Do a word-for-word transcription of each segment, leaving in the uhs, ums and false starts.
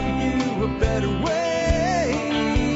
you a better way.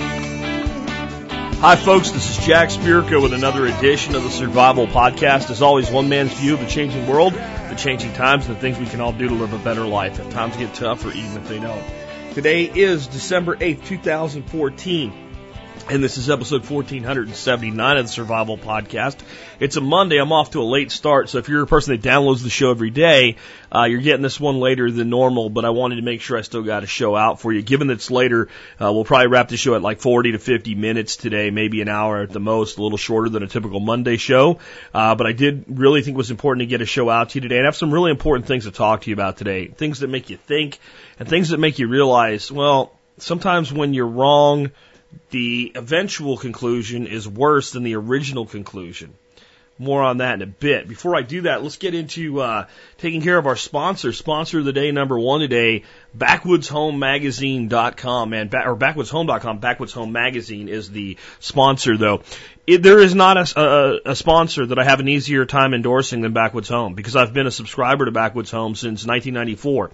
Hi, folks. This is Jack Spirko with another edition of the Survival Podcast. As always, one man's view of the changing world, the changing times, and the things we can all do to live a better life if times get tough or even if they don't. Today is December eighth, two thousand fourteen. And this is episode fourteen seventy-nine of the Survival Podcast. It's a Monday. I'm off to a late start, so if you're a person that downloads the show every day, uh, you're getting this one later than normal, but I wanted to make sure I still got a show out for you. Given that it's later, uh, we'll probably wrap the show at like forty to fifty minutes today, maybe an hour at the most, a little shorter than a typical Monday show. Uh, but I did really think it was important to get a show out to you today, and I have some really important things to talk to you about today. Things that make you think, and things that make you realize, well, sometimes when you're wrong, the eventual conclusion is worse than the original conclusion. More on that in a bit. Before I do that, let's get into uh, taking care of our sponsor. Sponsor of the day, number one today, backwoods home magazine dot com, and or backwoods home dot com. Backwoods Home Magazine is the sponsor, though. It, there is not a, a, a sponsor that I have an easier time endorsing than Backwoods Home, because I've been a subscriber to Backwoods Home since nineteen ninety-four.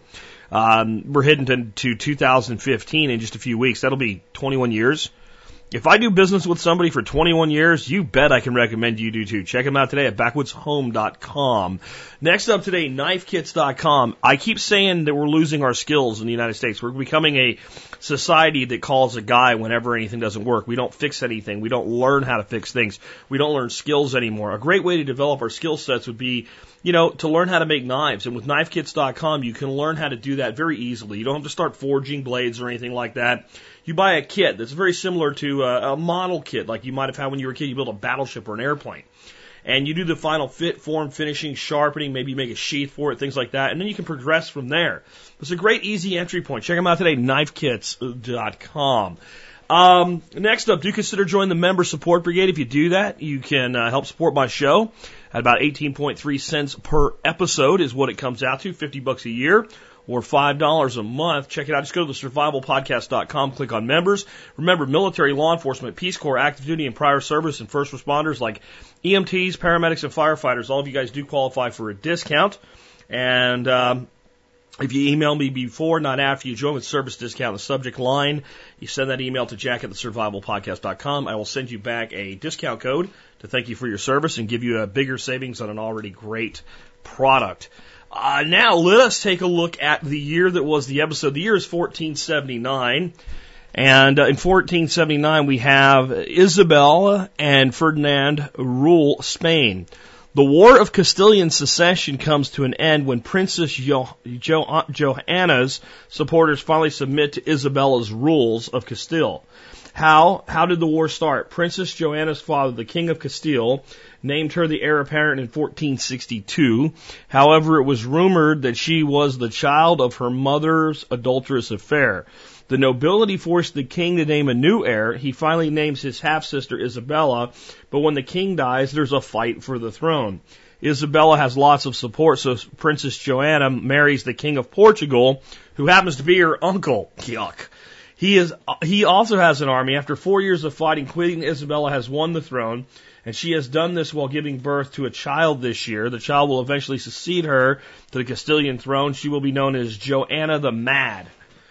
Um, we're heading to, to two thousand fifteen in just a few weeks. That'll be twenty-one years. If I do business with somebody for twenty-one years, you bet I can recommend you do too. Check them out today at backwoods home dot com. Next up today, knife kits dot com. I keep saying that we're losing our skills in the United States. We're becoming a society that calls a guy whenever anything doesn't work. We don't fix anything. We don't learn how to fix things. We don't learn skills anymore. A great way to develop our skill sets would be, you know, to learn how to make knives. And with knife kits dot com, you can learn how to do that very easily. You don't have to start forging blades or anything like that. You buy a kit that's very similar to a, a model kit like you might have had when you were a kid. You build a battleship or an airplane. And you do the final fit, form, finishing, sharpening, maybe you make a sheath for it, things like that. And then you can progress from there. It's a great, easy entry point. Check them out today, knife kits dot com. Um, next up, do consider joining the Member Support Brigade. If you do that, you can uh, help support my show at about eighteen point three cents per episode is what it comes out to, fifty bucks a year or five dollars a month. Check it out. Just go to the survival podcast dot com, click on members. Remember, military, law enforcement, Peace Corps, active duty and prior service, and first responders like E M Ts, paramedics, and firefighters, all of you guys do qualify for a discount. And um, if you email me before, not after, you join with service discount in the subject line. You send that email to jack at the survival podcast dot com. I will send you back a discount code to thank you for your service and give you a bigger savings on an already great product. Uh, now let us take a look at the year that was the episode. The year is fourteen seventy-nine. And uh, in fourteen seventy-nine, we have Isabel and Ferdinand rule Spain. The War of Castilian Secession comes to an end when Princess jo- jo- Johanna's supporters finally submit to Isabella's rules of Castile. How? How did the war start? Princess Johanna's father, the King of Castile, named her the heir apparent in fourteen sixty-two. However, it was rumored that she was the child of her mother's adulterous affair. The nobility forced the king to name a new heir. He finally names his half-sister Isabella, but when the king dies, there's a fight for the throne. Isabella has lots of support, so Princess Johanna marries the King of Portugal, who happens to be her uncle. Yuck. He is. He also has an army. After four years of fighting, Queen Isabella has won the throne, and she has done this while giving birth to a child this year. The child will eventually succeed her to the Castilian throne. She will be known as Joanna the Mad.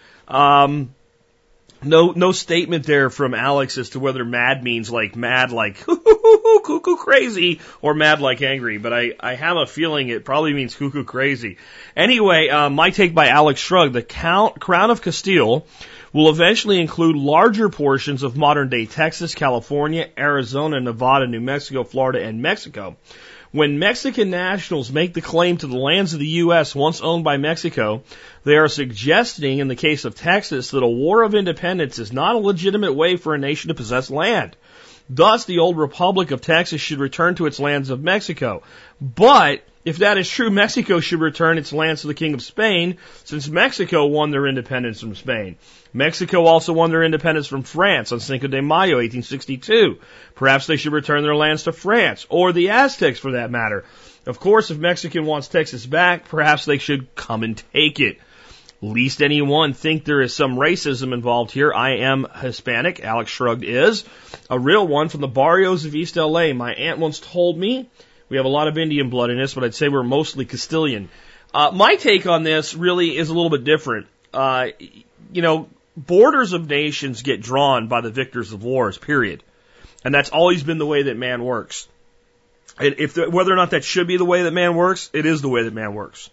Um, no, no statement there from Alex as to whether mad means like mad, like cuckoo crazy, or mad like angry. But I, I have a feeling it probably means cuckoo crazy. Anyway, uh, my take by Alex Shrug: the count, Crown of Castile will eventually include larger portions of modern-day Texas, California, Arizona, Nevada, New Mexico, Florida, and Mexico. When Mexican nationals make the claim to the lands of the U S once owned by Mexico, they are suggesting, in the case of Texas, that a war of independence is not a legitimate way for a nation to possess land. Thus, the old Republic of Texas should return to its lands of Mexico. But if that is true, Mexico should return its lands to the King of Spain, since Mexico won their independence from Spain. Mexico also won their independence from France on Cinco de Mayo, eighteen sixty-two. Perhaps they should return their lands to France, or the Aztecs for that matter. Of course, if Mexican wants Texas back, perhaps they should come and take it. Least anyone think there is some racism involved here. I am Hispanic. Alex Shrugged is. A real one from the barrios of East L A. My aunt once told me we have a lot of Indian blood in us, but I'd say we're mostly Castilian. Uh, my take on this really is a little bit different. Uh, you know, borders of nations get drawn by the victors of wars, period. And that's always been the way that man works. And if the, whether or not that should be the way that man works, it is the way that man works.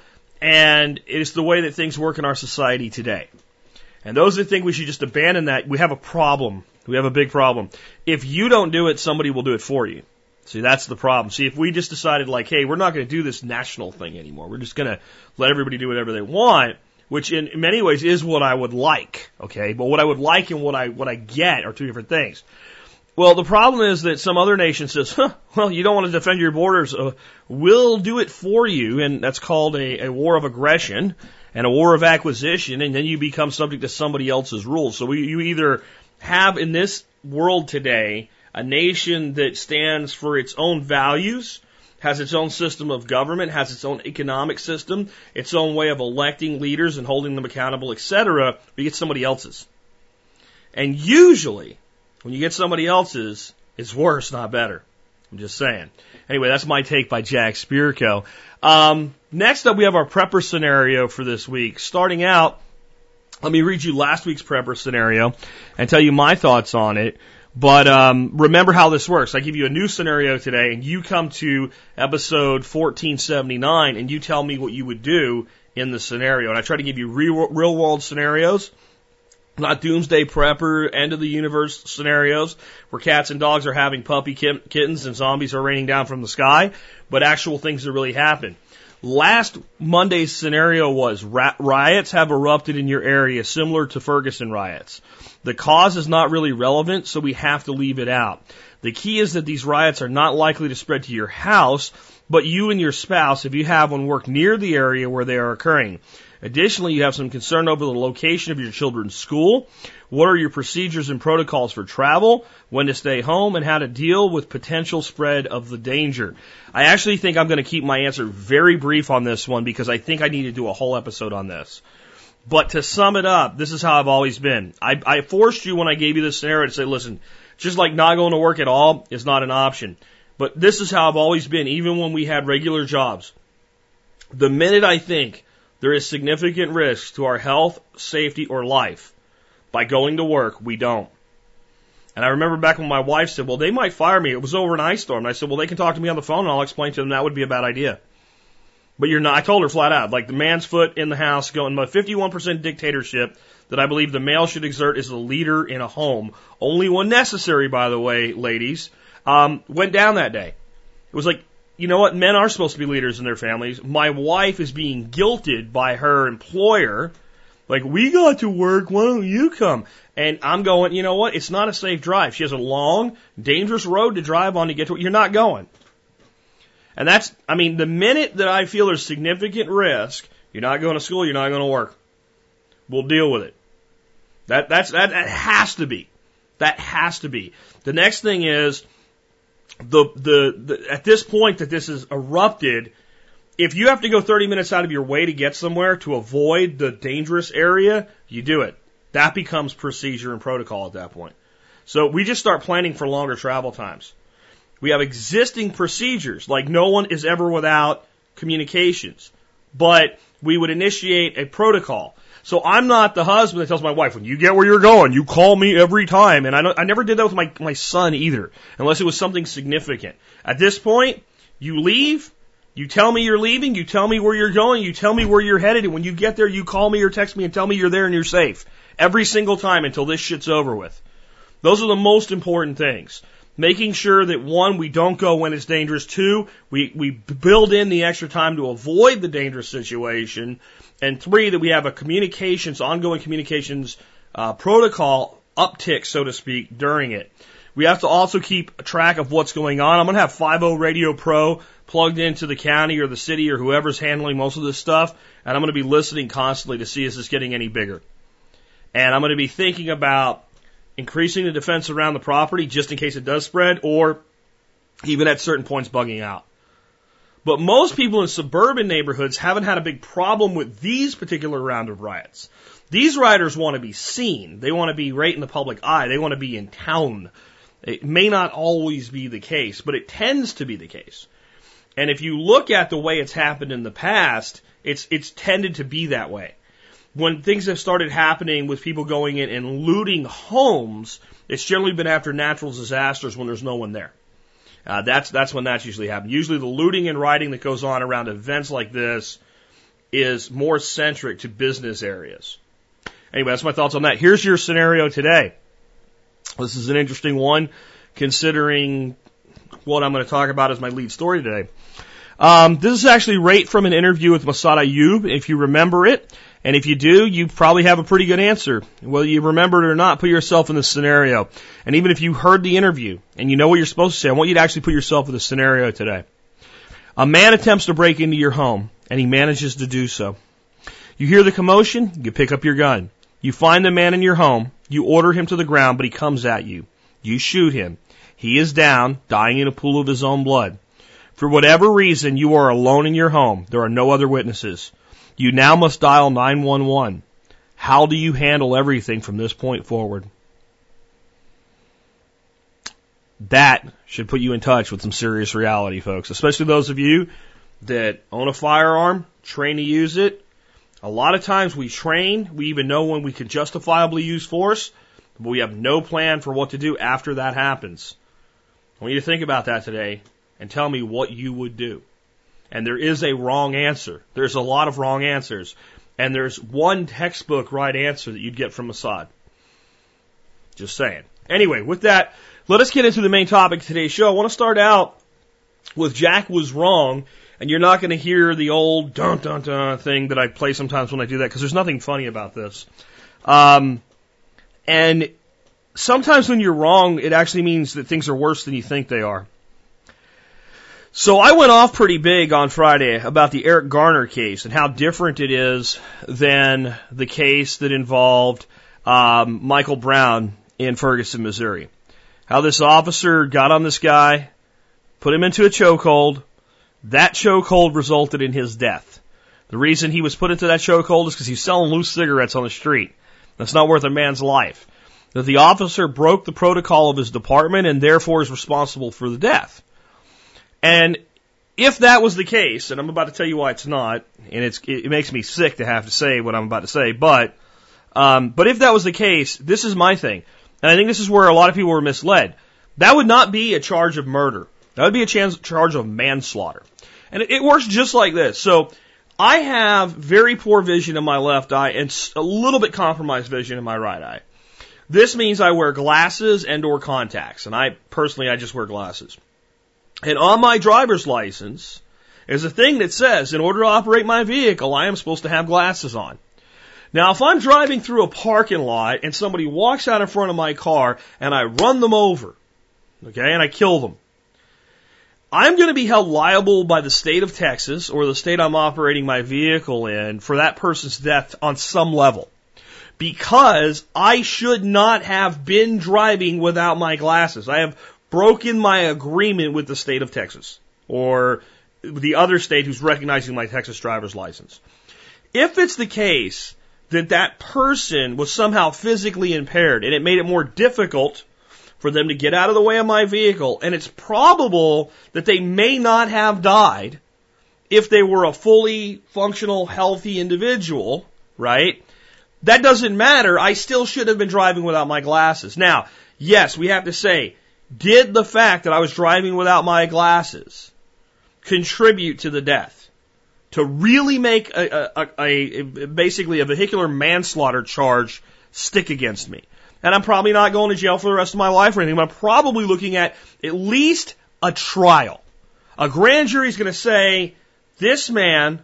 And it's the way that things work in our society today. And those that think we should just abandon that, we have a problem. We have a big problem. If you don't do it, somebody will do it for you. See, that's the problem. See, if we just decided like, hey, we're not going to do this national thing anymore. We're just going to let everybody do whatever they want, which in many ways is what I would like, okay? But what I would like and what I what I get are two different things. Well, the problem is that some other nation says, huh, well, you don't want to defend your borders. Uh, we'll do it for you, and that's called a, a war of aggression and a war of acquisition, and then you become subject to somebody else's rules. So we, you either have in this world today a nation that stands for its own values, has its own system of government, has its own economic system, its own way of electing leaders and holding them accountable, et cetera, or you get somebody else's. And usually, when you get somebody else's, it's worse, not better. I'm just saying. Anyway, that's my take by Jack Spirko. Um, next up, we have our prepper scenario for this week. Starting out, let me read you last week's prepper scenario and tell you my thoughts on it. But um, remember how this works. I give you a new scenario today, and you come to episode fourteen seventy-nine, and you tell me what you would do in the scenario. And I try to give you real, real-world scenarios, not doomsday prepper, end-of-the-universe scenarios where cats and dogs are having puppy kittens and zombies are raining down from the sky, but actual things that really happen. Last Monday's scenario was riots have erupted in your area, similar to Ferguson riots. The cause is not really relevant, so we have to leave it out. The key is that these riots are not likely to spread to your house, but you and your spouse, if you have one, work near the area where they are occurring. Additionally, you have some concern over the location of your children's school. What are your procedures and protocols for travel, when to stay home, and how to deal with potential spread of the danger? I actually think I'm going to keep my answer very brief on this one because I think I need to do a whole episode on this. But to sum it up, this is how I've always been. I, I forced you when I gave you this scenario to say, listen, just like not going to work at all is not an option. But this is how I've always been, even when we had regular jobs. The minute I think there is significant risk to our health, safety, or life by going to work, we don't. And I remember back when my wife said, well, they might fire me. It was over an ice storm. And I said, well, they can talk to me on the phone and I'll explain to them that would be a bad idea. But you're not, I told her flat out, like the man's foot in the house going, my fifty-one percent dictatorship that I believe the male should exert as the leader in a home, only when necessary, by the way, ladies, um, went down that day. It was like, you know what? Men are supposed to be leaders in their families. My wife is being guilted by her employer. Like, we got to work. Why don't you come? And I'm going, you know what? It's not a safe drive. She has a long, dangerous road to drive on to get to it. You're not going. And that's, I mean, the minute that I feel there's significant risk, you're not going to school, you're not going to work. We'll deal with it. That, that's, that, that has to be. That has to be. The next thing is, The, the, the, at this point that this has erupted, if you have to go thirty minutes out of your way to get somewhere to avoid the dangerous area, you do it. That becomes procedure and protocol at that point. So we just start planning for longer travel times. We have existing procedures, like no one is ever without communications, but we would initiate a protocol. So I'm not the husband that tells my wife, when you get where you're going, you call me every time. And I don't, I never did that with my, my son either, unless it was something significant. At this point, you leave, you tell me you're leaving, you tell me where you're going, you tell me where you're headed, and when you get there, you call me or text me and tell me you're there and you're safe. Every single time until this shit's over with. Those are the most important things. Making sure that, one, we don't go when it's dangerous. Two, we, we build in the extra time to avoid the dangerous situation. And three, that we have a communications, ongoing communications uh, protocol uptick, so to speak, during it. We have to also keep track of what's going on. I'm going to have five oh Radio Pro plugged into the county or the city or whoever's handling most of this stuff, and I'm going to be listening constantly to see is this getting any bigger. And I'm going to be thinking about increasing the defense around the property just in case it does spread, or even at certain points bugging out. But most people in suburban neighborhoods haven't had a big problem with these particular round of riots. These rioters want to be seen. They want to be right in the public eye. They want to be in town. It may not always be the case, but it tends to be the case. And if you look at the way it's happened in the past, it's it's tended to be that way. when things have started happening with people going in and looting homes, it's generally been after natural disasters when there's no one there. Uh, that's that's when that's usually happened. Usually the looting and rioting that goes on around events like this is more centric to business areas. Anyway, that's my thoughts on that. Here's your scenario today. This is an interesting one, considering what I'm going to talk about as my lead story today. Um, this is actually right from an interview with Massad Ayoob, if you remember it. And if you do, you probably have a pretty good answer. Whether you remember it or not, put yourself in this scenario. And even if you heard the interview and you know what you're supposed to say, I want you to actually put yourself in the scenario today. A man attempts to break into your home, and he manages to do so. You hear the commotion, you pick up your gun. You find the man in your home, you order him to the ground, but he comes at you. You shoot him. He is down, dying in a pool of his own blood. For whatever reason, you are alone in your home. There are no other witnesses. You now must dial nine one one. How do you handle everything from this point forward? That should put you in touch with some serious reality, folks, especially those of you that own a firearm, train to use it. A lot of times we train, we even know when we can justifiably use force, but we have no plan for what to do after that happens. I want you to think about that today and tell me what you would do. And there is a wrong answer. There's a lot of wrong answers. And there's one textbook right answer that you'd get from Massad. Just saying. Anyway, with that, let us get into the main topic of today's show. I want to start out with Jack was wrong, and you're not going to hear the old dun dun dun thing that I play sometimes when I do that, because there's nothing funny about this. Um, and sometimes when you're wrong, it actually means that things are worse than you think they are. So I went off pretty big on Friday about the Eric Garner case and how different it is than the case that involved um, Michael Brown in Ferguson, Missouri. How this officer got on this guy, put him into a chokehold. That chokehold resulted in his death. The reason he was put into that chokehold is because he's selling loose cigarettes on the street. That's not worth a man's life. That the officer broke the protocol of his department and therefore is responsible for the death. And if that was the case, and I'm about to tell you why it's not, and it's, it makes me sick to have to say what I'm about to say, but, um, but if that was the case, this is my thing. And I think this is where a lot of people were misled. That would not be a charge of murder. That would be a chance, charge of manslaughter. And it, it works just like this. So I have very poor vision in my left eye and a little bit compromised vision in my right eye. This means I wear glasses and or contacts. And I, personally, I just wear glasses. And on my driver's license is a thing that says, in order to operate my vehicle, I am supposed to have glasses on. Now, if I'm driving through a parking lot and somebody walks out in front of my car and I run them over, okay, and I kill them, I'm going to be held liable by the state of Texas or the state I'm operating my vehicle in for that person's death on some level. Because I should not have been driving without my glasses. I have broken my agreement with the state of Texas or the other state who's recognizing my Texas driver's license. If it's the case that that person was somehow physically impaired and it made it more difficult for them to get out of the way of my vehicle, and it's probable that they may not have died if they were a fully functional, healthy individual, right? That doesn't matter. I still should have been driving without my glasses. Now, yes, we have to say, did the fact that I was driving without my glasses contribute to the death? To really make a, a, a, a basically a vehicular manslaughter charge stick against me. And I'm probably not going to jail for the rest of my life or anything, but I'm probably looking at at least a trial. A grand jury is going to say, this man,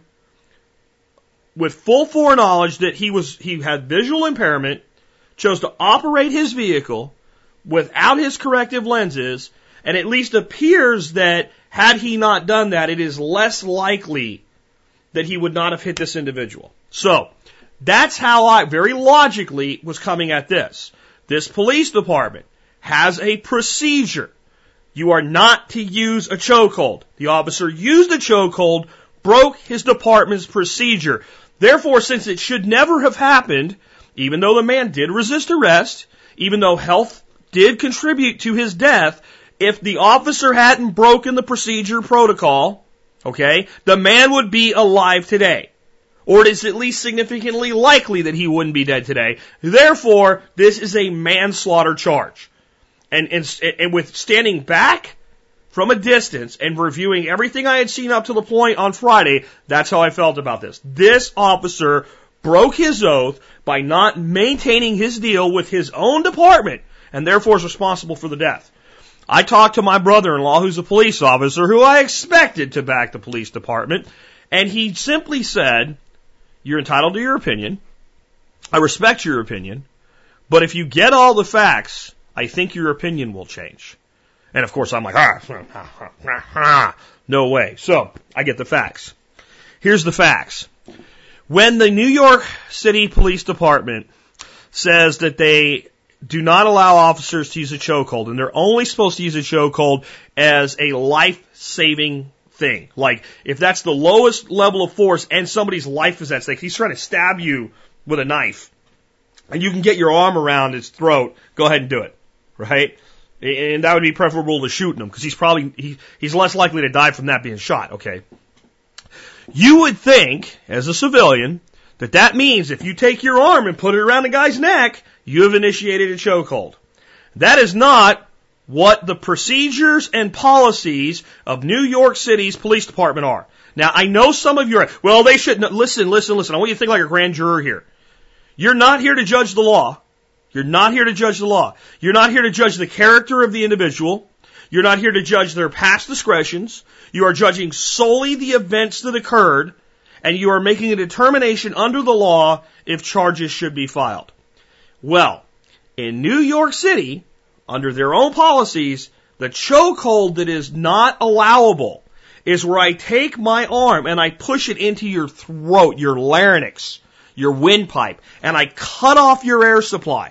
with full foreknowledge that he was he had visual impairment, chose to operate his vehicle without his corrective lenses, and at least appears that had he not done that, it is less likely that he would not have hit this individual. So, that's how I, very logically, was coming at this. This police department has a procedure. You are not to use a chokehold. The officer used a chokehold, broke his department's procedure. Therefore, since it should never have happened, even though the man did resist arrest, even though health did contribute to his death, if the officer hadn't broken the procedure protocol, okay, the man would be alive today. Or it is at least significantly likely that he wouldn't be dead today. Therefore, this is a manslaughter charge. And, and, and with standing back from a distance and reviewing everything I had seen up to the point on Friday, that's how I felt about this. This officer broke his oath by not maintaining his deal with his own department and therefore is responsible for the death. I talked to my brother-in-law, who's a police officer, who I expected to back the police department, and he simply said, "You're entitled to your opinion. I respect your opinion, but if you get all the facts, I think your opinion will change." And of course I'm like, ah, ah, ah, ah, no way. So I get the facts. Here's the facts. When the New York City Police Department says that they do not allow officers to use a chokehold, and they're only supposed to use a chokehold as a life-saving thing. Like, if that's the lowest level of force and somebody's life is at stake, he's trying to stab you with a knife, and you can get your arm around his throat, go ahead and do it, right? And that would be preferable to shooting him, because he's probably, he, he's less likely to die from that being shot, okay? You would think, as a civilian, that that means if you take your arm and put it around a guy's neck, you have initiated a chokehold. That is not what the procedures and policies of New York City's police department are. Now, I know some of you are, well, they shouldn't, listen, listen, listen, I want you to think like a grand juror here. You're not here to judge the law. You're not here to judge the law. You're not here to judge the character of the individual. You're not here to judge their past discretions. You are judging solely the events that occurred, and you are making a determination under the law if charges should be filed. Well, in New York City, under their own policies, the chokehold that is not allowable is where I take my arm and I push it into your throat, your larynx, your windpipe, and I cut off your air supply.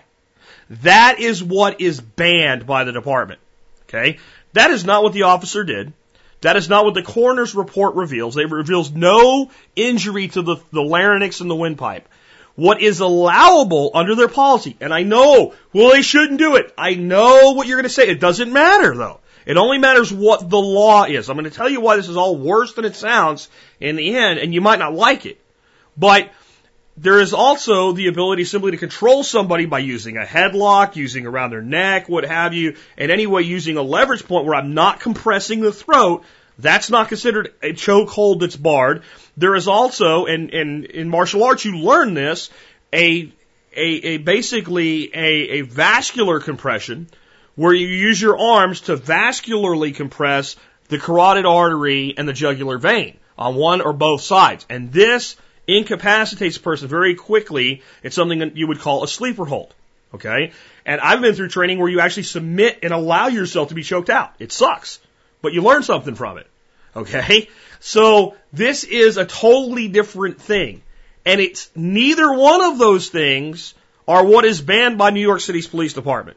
That is what is banned by the department. Okay? That is not what the officer did. That is not what the coroner's report reveals. It reveals no injury to the, the larynx and the windpipe. What is allowable under their policy, and I know, well, they shouldn't do it. I know what you're going to say. It doesn't matter, though. It only matters what the law is. I'm going to tell you why this is all worse than it sounds in the end, and you might not like it. But there is also the ability simply to control somebody by using a headlock, using around their neck, what have you, and anyway using a leverage point where I'm not compressing the throat. That's not considered a chokehold that's barred. There is also, and in, in, in martial arts you learn this, a, a, a basically a, a vascular compression where you use your arms to vascularly compress the carotid artery and the jugular vein on one or both sides. And this incapacitates a person very quickly. It's something that you would call a sleeper hold. Okay? And I've been through training where you actually submit and allow yourself to be choked out. It sucks, but you learn something from it. Okay? So this is a totally different thing. And it's neither one of those things are what is banned by New York City's police department.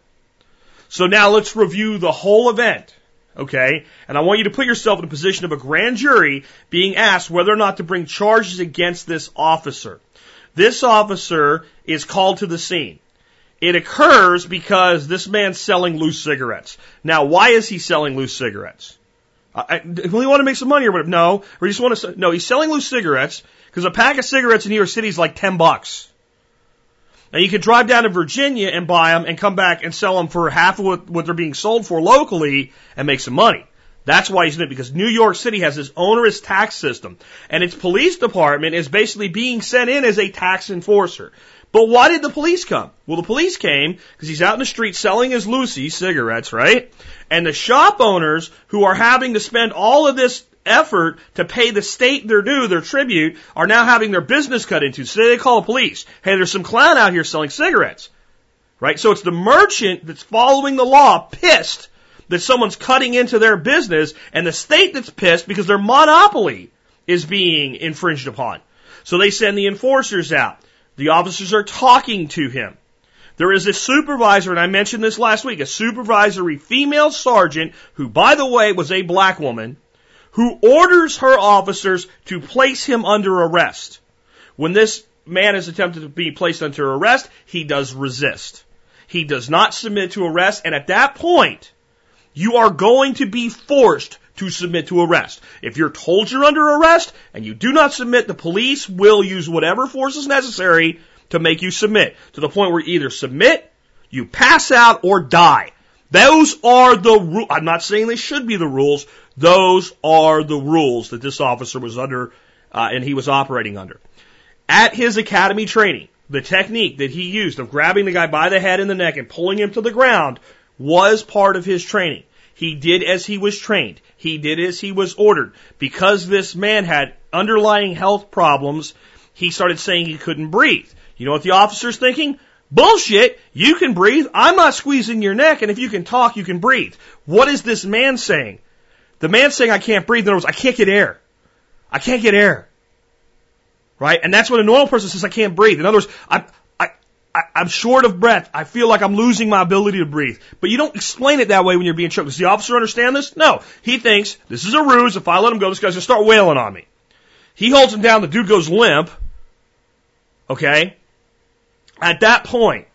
So now let's review the whole event. Okay? And I want you to put yourself in a position of a grand jury being asked whether or not to bring charges against this officer. This officer is called to the scene. It occurs because this man's selling loose cigarettes. Now, why is he selling loose cigarettes? I, do we want to make some money or whatever? No. Or just want to, no, he's selling loose cigarettes because a pack of cigarettes in New York City is like ten bucks. Now, you could drive down to Virginia and buy them and come back and sell them for half of what, what they're being sold for locally and make some money. That's why he's doing it, because New York City has this onerous tax system. And its police department is basically being sent in as a tax enforcer. But why did the police come? Well, the police came because he's out in the street selling his Lucy cigarettes, right? And the shop owners who are having to spend all of this effort to pay the state their due, their tribute, are now having their business cut into. So they call the police. Hey, there's some clown out here selling cigarettes. Right? So it's the merchant that's following the law, pissed that someone's cutting into their business, and the state that's pissed because their monopoly is being infringed upon. So they send the enforcers out. The officers are talking to him. There is a supervisor, and I mentioned this last week, a supervisory female sergeant who, by the way, was a black woman, who orders her officers to place him under arrest. When this man is attempted to be placed under arrest, he does resist. He does not submit to arrest, and at that point, you are going to be forced to submit to arrest. If you're told you're under arrest and you do not submit, the police will use whatever force is necessary to make you submit, to the point where you either submit, you pass out, or die. Those are the rules. I'm not saying they should be the rules. Those are the rules that this officer was under, uh, and he was operating under. At his academy training, the technique that he used of grabbing the guy by the head and the neck and pulling him to the ground was part of his training. He did as he was trained. He did as he was ordered. Because this man had underlying health problems, he started saying he couldn't breathe. You know what the officer's thinking? Bullshit! You can breathe. I'm not squeezing your neck, and if you can talk, you can breathe. What is this man saying? The man's saying I can't breathe. In other words, I can't get air. I can't get air. Right? And that's what a normal person says, I can't breathe. In other words, I, I, I, I'm short of breath. I feel like I'm losing my ability to breathe. But you don't explain it that way when you're being choked. Does the officer understand this? No. He thinks, this is a ruse. If I let him go, this guy's going to start wailing on me. He holds him down. The dude goes limp. Okay? At that point,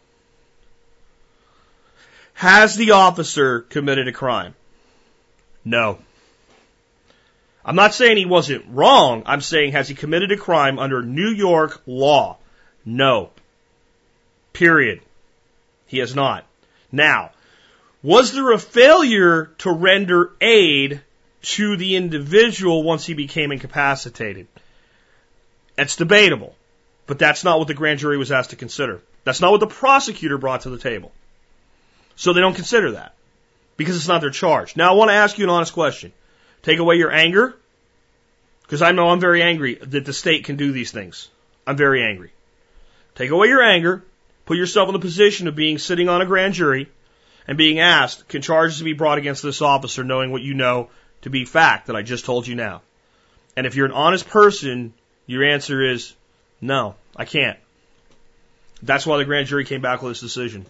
has the officer committed a crime? No. I'm not saying he wasn't wrong. I'm saying, has he committed a crime under New York law? No. Period. He has not. Now, was there a failure to render aid to the individual once he became incapacitated? It's debatable, but that's not what the grand jury was asked to consider. That's not what the prosecutor brought to the table. So they don't consider that because it's not their charge. Now, I want to ask you an honest question. Take away your anger, because I know I'm very angry that the state can do these things. I'm very angry. Take away your anger, put yourself in the position of being sitting on a grand jury and being asked, can charges be brought against this officer knowing what you know to be fact that I just told you now? And if you're an honest person, your answer is, no, I can't. That's why the grand jury came back with this decision.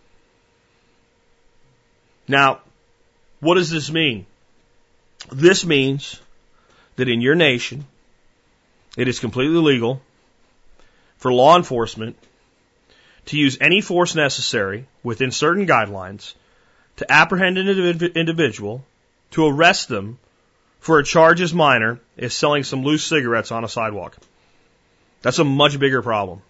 Now, what does this mean? This means that in your nation, it is completely legal for law enforcement to use any force necessary within certain guidelines to apprehend an individual, to arrest them for a charge as minor as selling some loose cigarettes on a sidewalk. That's a much bigger problem.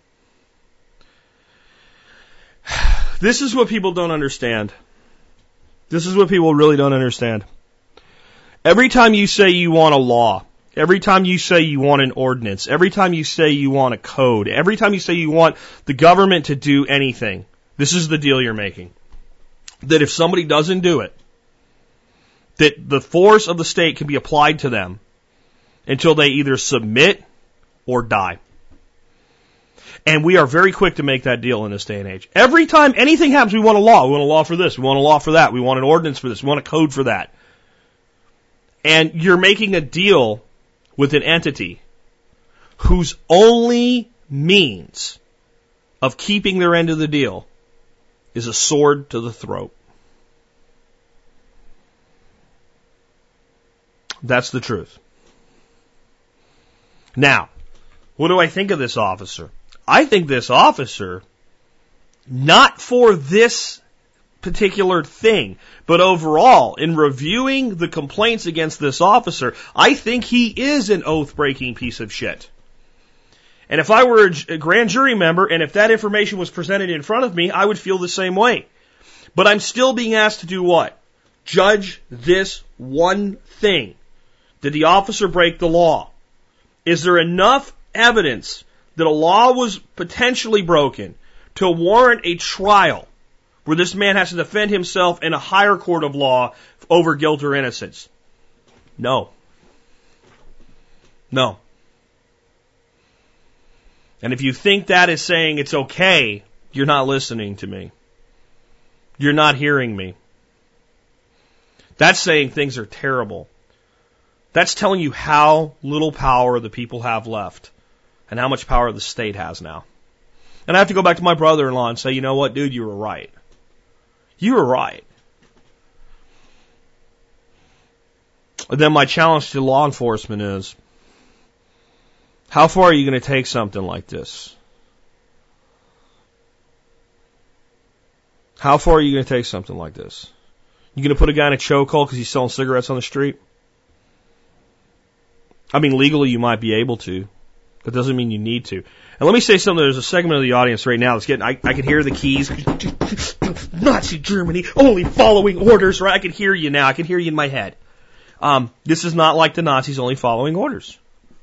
This is what people don't understand. This is what people really don't understand. Every time you say you want a law, every time you say you want an ordinance, every time you say you want a code, every time you say you want the government to do anything, this is the deal you're making. That if somebody doesn't do it, that the force of the state can be applied to them until they either submit or die. And we are very quick to make that deal in this day and age. Every time anything happens, we want a law. We want a law for this. We want a law for that. We want an ordinance for this. We want a code for that. And you're making a deal with an entity whose only means of keeping their end of the deal is a sword to the throat. That's the truth. Now, what do I think of this officer? I think this officer, not for this particular thing, but overall, in reviewing the complaints against this officer, I think he is an oath-breaking piece of shit. And if I were a, a grand jury member, and if that information was presented in front of me, I would feel the same way. But I'm still being asked to do what? Judge this one thing. Did the officer break the law? Is there enough evidence that a law was potentially broken to warrant a trial where this man has to defend himself in a higher court of law over guilt or innocence? No. No. And if you think that is saying it's okay, you're not listening to me. You're not hearing me. That's saying things are terrible. That's telling you how little power the people have left and how much power the state has now. And I have to go back to my brother-in-law and say, you know what, dude, you were right. You were right. And then my challenge to law enforcement is, how far are you going to take something like this? How far are you going to take something like this? You going to put a guy in a chokehold because he's selling cigarettes on the street? I mean, legally you might be able to. That doesn't mean you need to. And let me say something. There's a segment of the audience right now that's getting, I, I can hear the keys. Nazi Germany, only following orders, right? I can hear you now. I can hear you in my head. Um, this is not like the Nazis only following orders.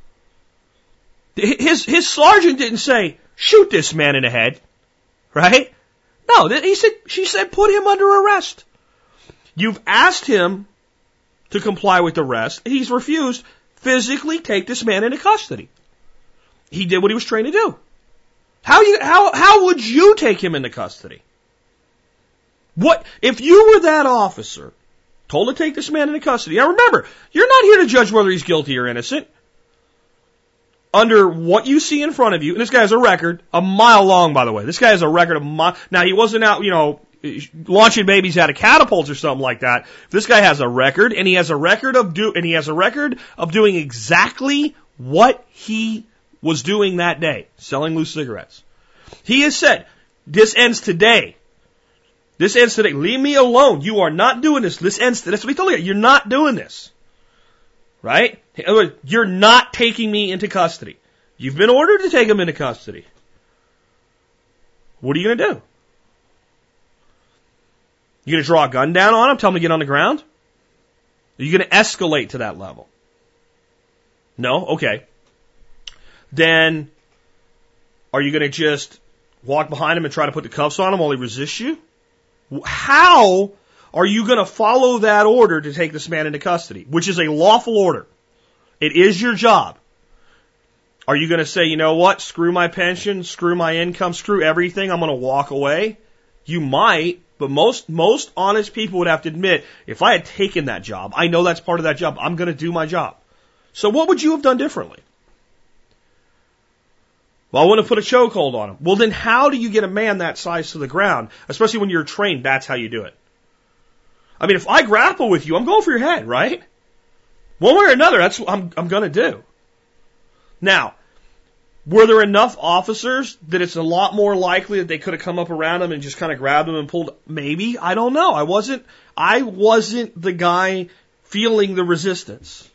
His, his sergeant didn't say, shoot this man in the head, right? No, he said, she said, put him under arrest. You've asked him to comply with the arrest. He's refused. Physically take this man into custody. He did what he was trained to do. How you, how, how would you take him into custody? What, if you were that officer, told to take this man into custody. Now remember, you're not here to judge whether he's guilty or innocent. Under what you see in front of you, and this guy has a record, a mile long, by the way. This guy has a record of mile. Now he wasn't out, you know, launching babies out of catapults or something like that. This guy has a record, and he has a record of do, and he has a record of doing exactly what he was doing that day, selling loose cigarettes. He has said, this ends today. This ends today. Leave me alone. You are not doing this. This ends today. That's what he told you. You're not doing this. Right? In other words, you're not taking me into custody. You've been ordered to take him into custody. What are you going to do? You going to draw a gun down on him, tell him to get on the ground? Are you going to escalate to that level? No? Okay. Then, are you going to just walk behind him and try to put the cuffs on him while he resists you? How are you going to follow that order to take this man into custody, which is a lawful order? It is your job. Are you going to say, you know what, screw my pension, screw my income, screw everything, I'm going to walk away? You might, but most, most honest people would have to admit, if I had taken that job, I know that's part of that job, I'm going to do my job. So what would you have done differently? Well, I wouldn't have put a chokehold on him. Well, then how do you get a man that size to the ground? Especially when you're trained, that's how you do it. I mean, if I grapple with you, I'm going for your head, right? One way or another, that's what I'm, I'm going to do. Now, were there enough officers that it's a lot more likely that they could have come up around him and just kind of grabbed him and pulled? Maybe. I don't know. I wasn't, I wasn't the guy feeling the resistance.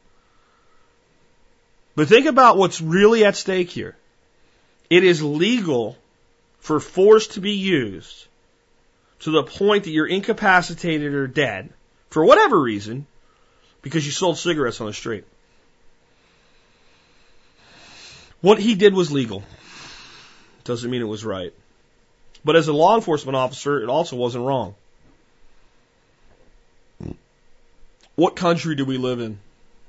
But think about what's really at stake here. It is legal for force to be used to the point that you're incapacitated or dead for whatever reason because you sold cigarettes on the street. What he did was legal. Doesn't mean it was right. But as a law enforcement officer, it also wasn't wrong. What country do we live in?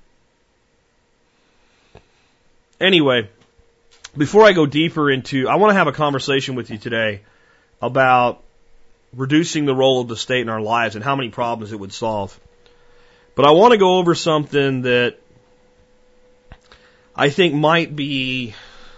Anyway, before I go deeper into, I want to have a conversation with you today about reducing the role of the state in our lives and how many problems it would solve. But I want to go over something that I think might be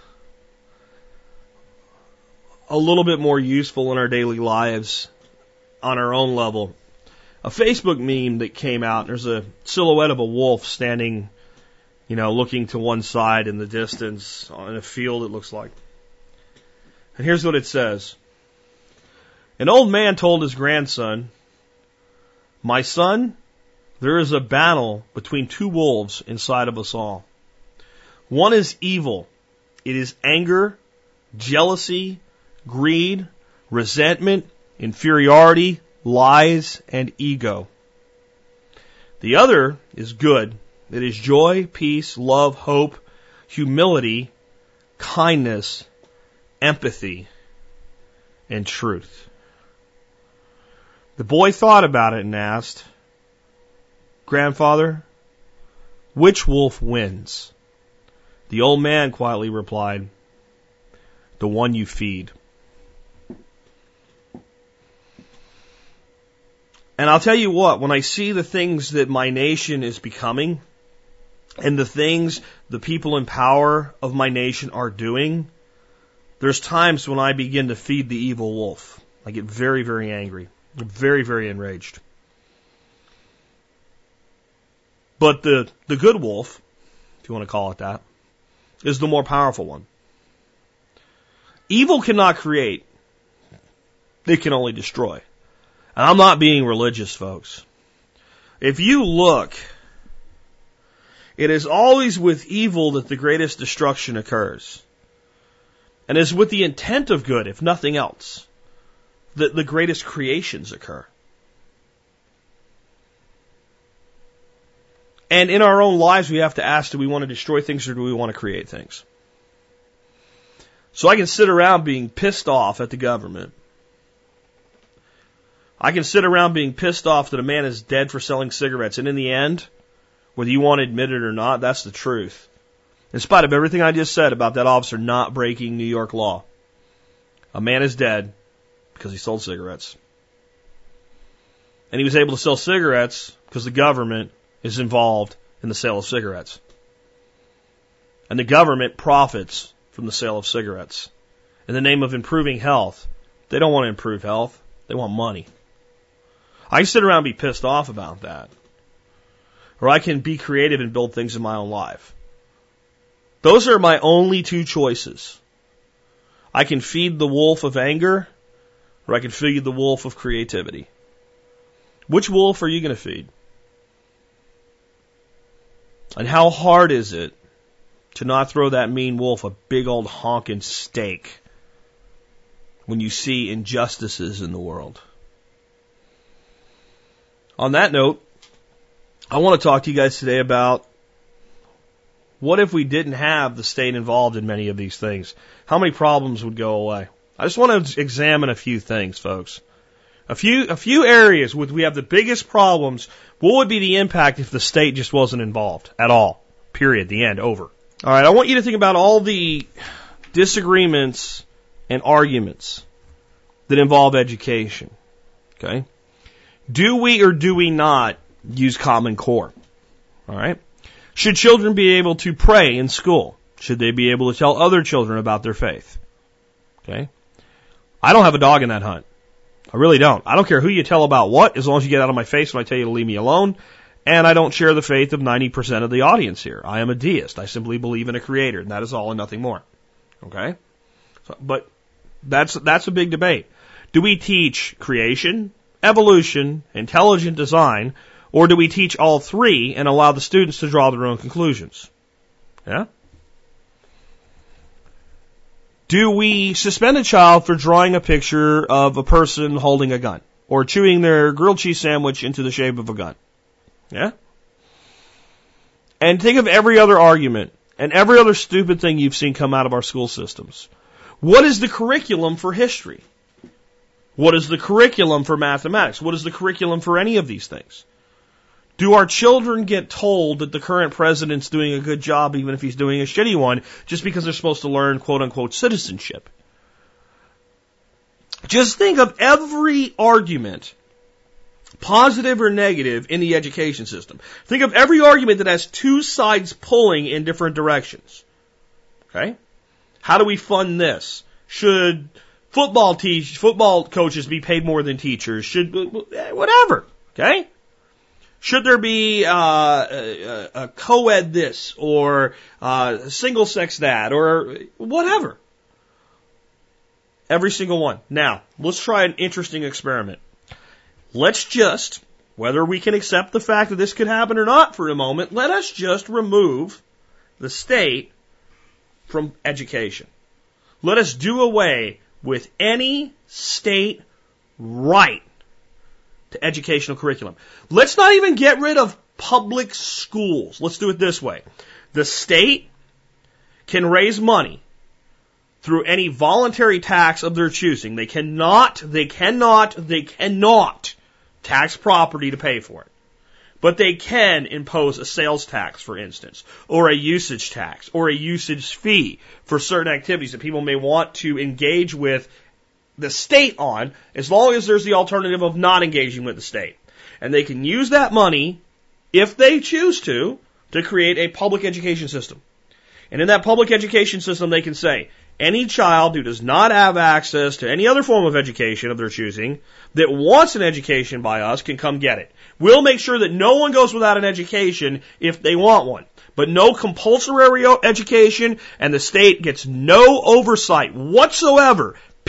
a little bit more useful in our daily lives on our own level. A Facebook meme that came out, there's a silhouette of a wolf standing, you know, looking to one side in the distance on a field, it looks like. And here's what it says. An old man told his grandson, "My son, there is a battle between two wolves inside of us all. One is evil. It is anger, jealousy, greed, resentment, inferiority, lies, and ego. The other is good. It is joy, peace, love, hope, humility, kindness, empathy, and truth." The boy thought about it and asked, "Grandfather, which wolf wins?" The old man quietly replied, "The one you feed." And I'll tell you what, when I see the things that my nation is becoming, and the things the people in power of my nation are doing, there's times when I begin to feed the evil wolf. I get very, very angry. I'm very, very enraged. But the, the good wolf, if you want to call it that, is the more powerful one. Evil cannot create. It can only destroy. And I'm not being religious, folks. If you look It is always with evil that the greatest destruction occurs. And it is with the intent of good, if nothing else, that the greatest creations occur. And in our own lives, we have to ask, do we want to destroy things or do we want to create things? So I can sit around being pissed off at the government. I can sit around being pissed off that a man is dead for selling cigarettes. And in the end, whether you want to admit it or not, that's the truth. In spite of everything I just said about that officer not breaking New York law, a man is dead because he sold cigarettes. And he was able to sell cigarettes because the government is involved in the sale of cigarettes. And the government profits from the sale of cigarettes. In the name of improving health, they don't want to improve health. They want money. I can sit around and be pissed off about that. Or I can be creative and build things in my own life. Those are my only two choices. I can feed the wolf of anger, or I can feed the wolf of creativity. Which wolf are you going to feed? And how hard is it to not throw that mean wolf a big old honking steak when you see injustices in the world? On that note, I want to talk to you guys today about what if we didn't have the state involved in many of these things? How many problems would go away? I just want to examine a few things, folks. A few, a few areas where we have the biggest problems. What would be the impact if the state just wasn't involved at all? Period. The end. Over. All right. I want you to think about all the disagreements and arguments that involve education. Okay. Do we or do we not use Common Core? All right. Should children be able to pray in school? Should they be able to tell other children about their faith? Okay. I don't have a dog in that hunt. I really don't. I don't care who you tell about what, as long as you get out of my face when I tell you to leave me alone. And I don't share the faith of ninety percent of the audience here. I am a deist. I simply believe in a creator, and that is all and nothing more. Okay? So, but that's, that's a big debate. Do we teach creation, evolution, intelligent design, or do we teach all three and allow the students to draw their own conclusions? Yeah? Do we suspend a child for drawing a picture of a person holding a gun or chewing their grilled cheese sandwich into the shape of a gun? Yeah? And think of every other argument and every other stupid thing you've seen come out of our school systems. What is the curriculum for history? What is the curriculum for mathematics? What is the curriculum for any of these things? Do our children get told that the current president's doing a good job even if he's doing a shitty one just because they're supposed to learn quote-unquote citizenship? Just think of every argument, positive or negative, in the education system. Think of every argument that has two sides pulling in different directions. Okay? How do we fund this? Should football teach, football coaches be paid more than teachers? Should, whatever. Okay? Should there be uh, a, a co-ed this or uh, single sex that or whatever? Every single one. Now, let's try an interesting experiment. Let's just, whether we can accept the fact that this could happen or not for a moment, let us just remove the state from education. Let us do away with any state right to educational curriculum. Let's not even get rid of public schools. Let's do it this way. The state can raise money through any voluntary tax of their choosing. They cannot, they cannot, they cannot tax property to pay for it. But they can impose a sales tax, for instance, or a usage tax, or a usage fee for certain activities that people may want to engage with the state on, as long as there's the alternative of not engaging with the state. And they can use that money, if they choose to, to create a public education system. And in that public education system, they can say, any child who does not have access to any other form of education of their choosing, that wants an education by us, can come get it. We'll make sure that no one goes without an education if they want one. But no compulsory education, and the state gets no oversight whatsoever,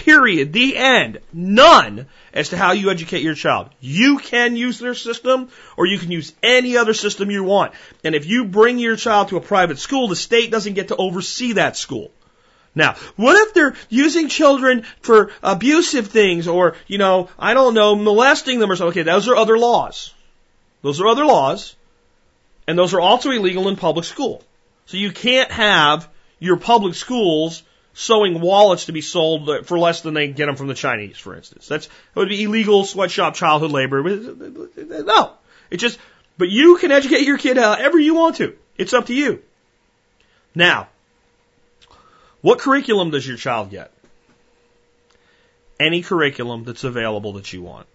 Period. The end. None as to how you educate your child. You can use their system, or you can use any other system you want. And if you bring your child to a private school, the state doesn't get to oversee that school. Now, what if they're using children for abusive things, or, you know, I don't know, molesting them or something? Okay, those are other laws. Those are other laws, and those are also illegal in public school. So you can't have your public schools sewing wallets to be sold for less than they get them from the Chinese, for instance. That's, that would be illegal sweatshop childhood labor. No. It's just, but you can educate your kid however you want to. It's up to you. Now, what curriculum does your child get? Any curriculum that's available that you want.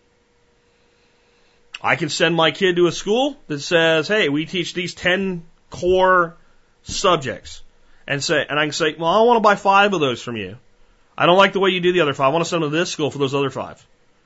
I can send my kid to a school that says, hey, we teach these ten core subjects. And say, and I can say, well, I want to buy five of those from you. I don't like the way you do the other five. I want to send them to this school for those other five.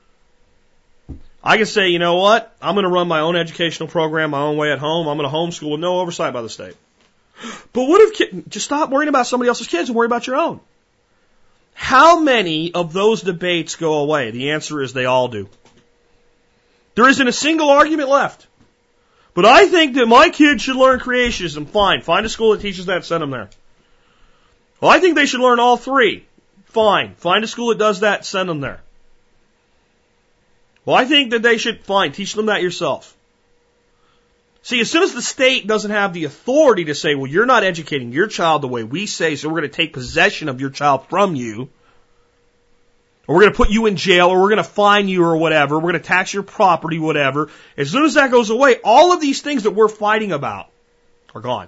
I can say, you know what? I'm going to run my own educational program my own way at home. I'm going to homeschool with no oversight by the state. But what if kid, just stop worrying about somebody else's kids and worry about your own? How many of those debates go away? The answer is they all do. There isn't a single argument left. But I think that my kids should learn creationism. Fine. Find a school that teaches that. Send them there. Well, I think they should learn all three. Fine. Find a school that does that. Send them there. Well, I think that they should, fine, teach them that yourself. See, as soon as the state doesn't have the authority to say, well, you're not educating your child the way we say, so we're going to take possession of your child from you, or we're going to put you in jail, or we're going to fine you or whatever, we're going to tax your property, whatever. As soon as that goes away, all of these things that we're fighting about are gone.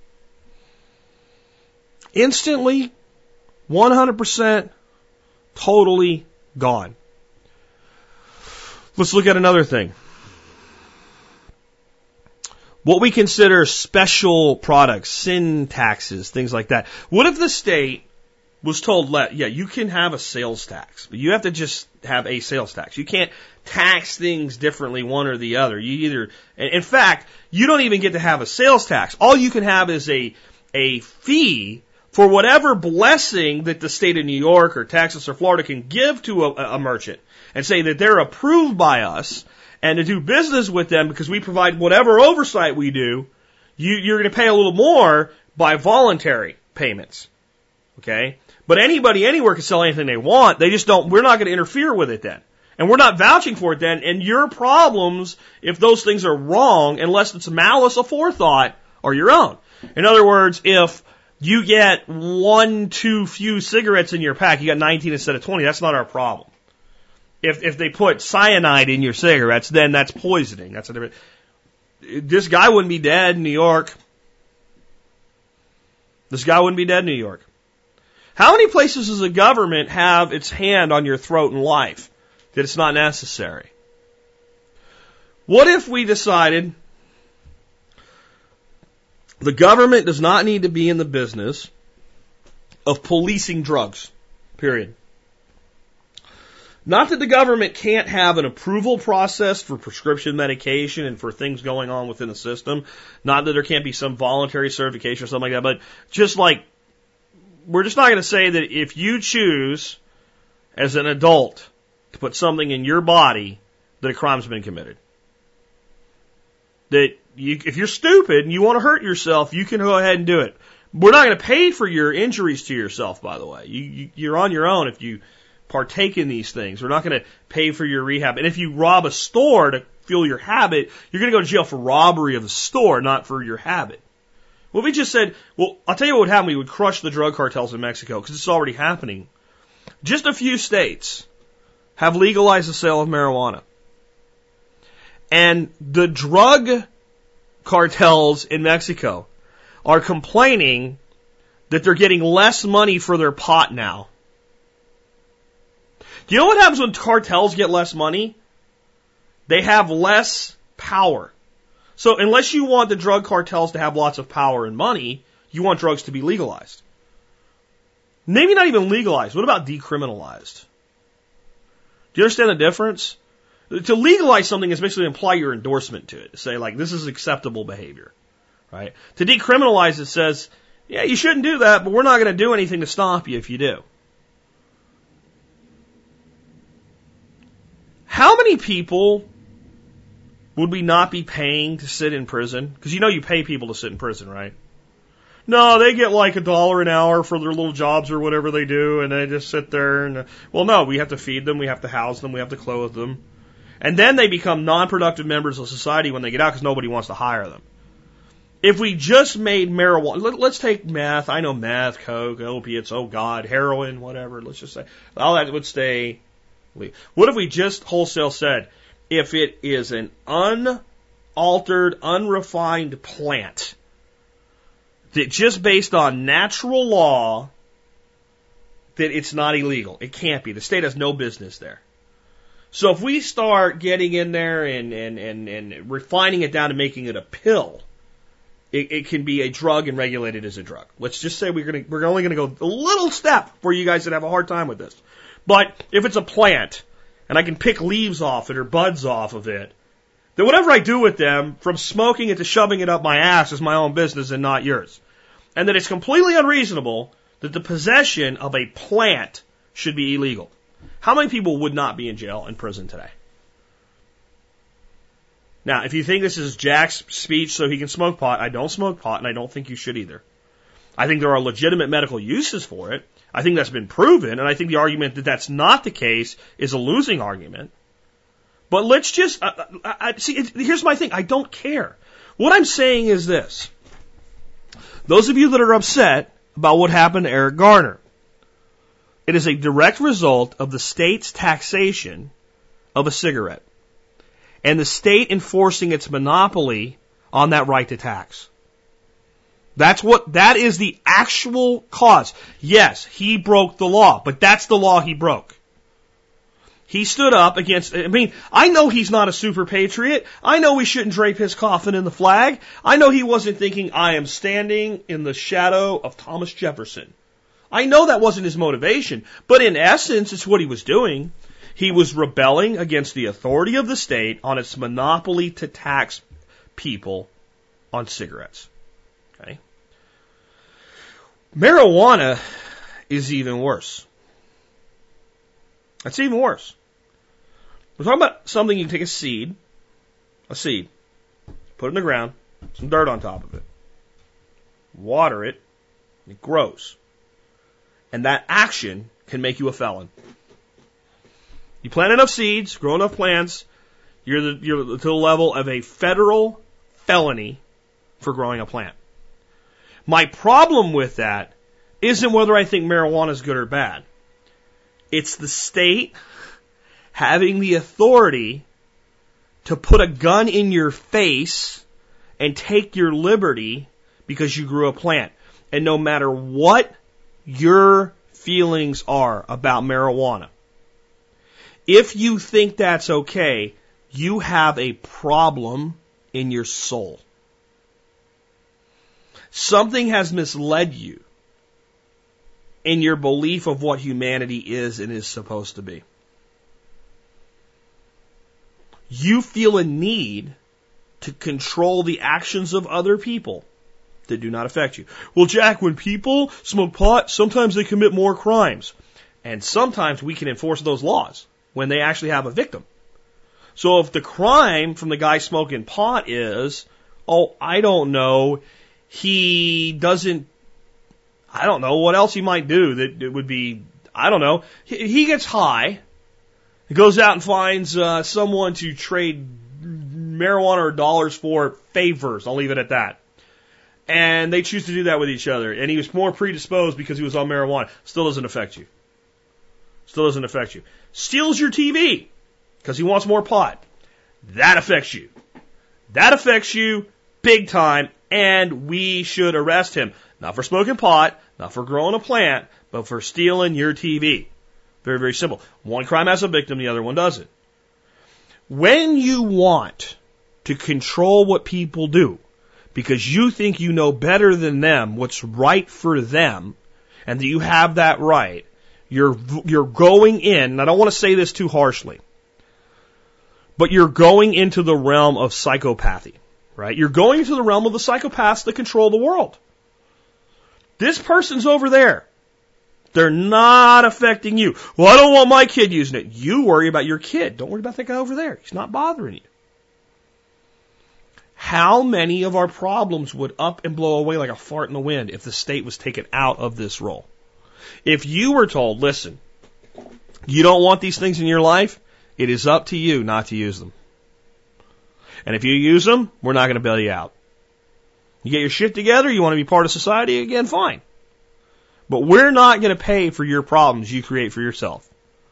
Instantly, one hundred percent, totally gone. Let's look at another thing. What we consider special products, sin taxes, things like that. What if the state was told, yeah, you can have a sales tax, but you have to just have a sales tax. You can't tax things differently one or the other. You either, in fact, you don't even get to have a sales tax. All you can have is a, a fee for whatever blessing that the state of New York or Texas or Florida can give to a, a merchant and say that they're approved by us and to do business with them because we provide whatever oversight we do, you, you're going to pay a little more by voluntary payments. Okay? But anybody anywhere can sell anything they want. They just don't, we're not going to interfere with it then. And we're not vouching for it then. And your problems, if those things are wrong, unless it's malice aforethought, are your own. In other words, if you get one too few cigarettes in your pack, you got nineteen instead of twenty, that's not our problem. If if they put cyanide in your cigarettes, then that's poisoning. That's a different. This guy wouldn't be dead in New York. This guy wouldn't be dead in New York. How many places does the government have its hand on your throat in life that it's not necessary? What if we decided the government does not need to be in the business of policing drugs, period. Not that the government can't have an approval process for prescription medication and for things going on within the system. Not that there can't be some voluntary certification or something like that, but just like, we're just not going to say that if you choose as an adult to put something in your body that a crime's been committed. That you, if you're stupid and you want to hurt yourself, you can go ahead and do it. We're not going to pay for your injuries to yourself, by the way. You, you, you're on your own if you partake in these things. We're not going to pay for your rehab. And if you rob a store to fuel your habit, you're going to go to jail for robbery of the store, not for your habit. Well, we just said, well, I'll tell you what would happen. We would crush the drug cartels in Mexico because it's already happening. Just a few states have legalized the sale of marijuana. And the drug cartels in Mexico are complaining that they're getting less money for their pot now. Do you know what happens when cartels get less money? They have less power. So unless you want the drug cartels to have lots of power and money, you want drugs to be legalized. Maybe not even legalized. What about decriminalized? Do you understand the difference? To legalize something is basically imply your endorsement to it. To say, like, this is acceptable behavior. Right? To decriminalize it says, yeah, you shouldn't do that, but we're not going to do anything to stop you if you do. How many people would we not be paying to sit in prison? Because you know you pay people to sit in prison, right? No, they get like a dollar an hour for their little jobs or whatever they do, and they just sit there and, well, no, we have to feed them, we have to house them, we have to clothe them. And then they become non-productive members of society when they get out because nobody wants to hire them. If we just made marijuana, let, let's take meth, I know meth, coke, opiates, oh God, heroin, whatever, let's just say, all that would stay. What if we just wholesale said, if it is an unaltered, unrefined plant, that just based on natural law, that it's not illegal. It can't be. The state has no business there. So if we start getting in there and, and, and, and refining it down and making it a pill, it, it can be a drug and regulated as a drug. Let's just say we're gonna, we're only going to go a little step for you guys that have a hard time with this. But if it's a plant, and I can pick leaves off it or buds off of it, then whatever I do with them, from smoking it to shoving it up my ass, is my own business and not yours. And that it's completely unreasonable that the possession of a plant should be illegal. How many people would not be in jail and prison today? Now, if you think this is Jack's speech so he can smoke pot, I don't smoke pot, and I don't think you should either. I think there are legitimate medical uses for it. I think that's been proven, and I think the argument that that's not the case is a losing argument. But let's just, uh, I, I, see, it, here's my thing. I don't care. What I'm saying is this. Those of you that are upset about what happened to Eric Garner, it is a direct result of the state's taxation of a cigarette and the state enforcing its monopoly on that right to tax. That's what, that is the actual cause. Yes, he broke the law, but that's the law he broke. He stood up against, I mean, I know he's not a super patriot. I know we shouldn't drape his coffin in the flag. I know he wasn't thinking, I am standing in the shadow of Thomas Jefferson. I know that wasn't his motivation, but in essence, it's what he was doing. He was rebelling against the authority of the state on its monopoly to tax people on cigarettes. Okay? Marijuana is even worse. That's even worse. We're talking about something you can take a seed, a seed, put it in the ground, some dirt on top of it, water it, it grows. And that action can make you a felon. You plant enough seeds, grow enough plants, you're, the, you're to the level of a federal felony for growing a plant. My problem with that isn't whether I think marijuana is good or bad. It's the state having the authority to put a gun in your face and take your liberty because you grew a plant. And no matter what your feelings are about marijuana, if you think that's okay, you have a problem in your soul. Something has misled you in your belief of what humanity is and is supposed to be. You feel a need to control the actions of other people that do not affect you. Well, Jack, when people smoke pot, sometimes they commit more crimes. And sometimes we can enforce those laws when they actually have a victim. So if the crime from the guy smoking pot is, oh, I don't know, he doesn't, I don't know what else he might do that it would be, I don't know, he, he gets high, he goes out and finds uh, someone to trade marijuana or dollars for favors, I'll leave it at that. And they choose to do that with each other. And he was more predisposed because he was on marijuana. Still doesn't affect you. Still doesn't affect you. Steals your T V because he wants more pot. That affects you. That affects you big time, and we should arrest him. Not for smoking pot, not for growing a plant, but for stealing your T V. Very, very simple. One crime has a victim, the other one doesn't. When you want to control what people do, because you think you know better than them what's right for them, and that you have that right, you're you're going in, and I don't want to say this too harshly, but you're going into the realm of psychopathy, right? You're going into the realm of the psychopaths that control the world. This person's over there, They're not affecting you. Well, I don't want my kid using it. You worry about your kid. Don't worry about that guy over there. He's not bothering you. How many of our problems would up and blow away like a fart in the wind if the state was taken out of this role? If you were told, listen, you don't want these things in your life, it is up to you not to use them. And if you use them, we're not going to bail you out. You get your shit together, you want to be part of society again, fine. But we're not going to pay for your problems you create for yourself.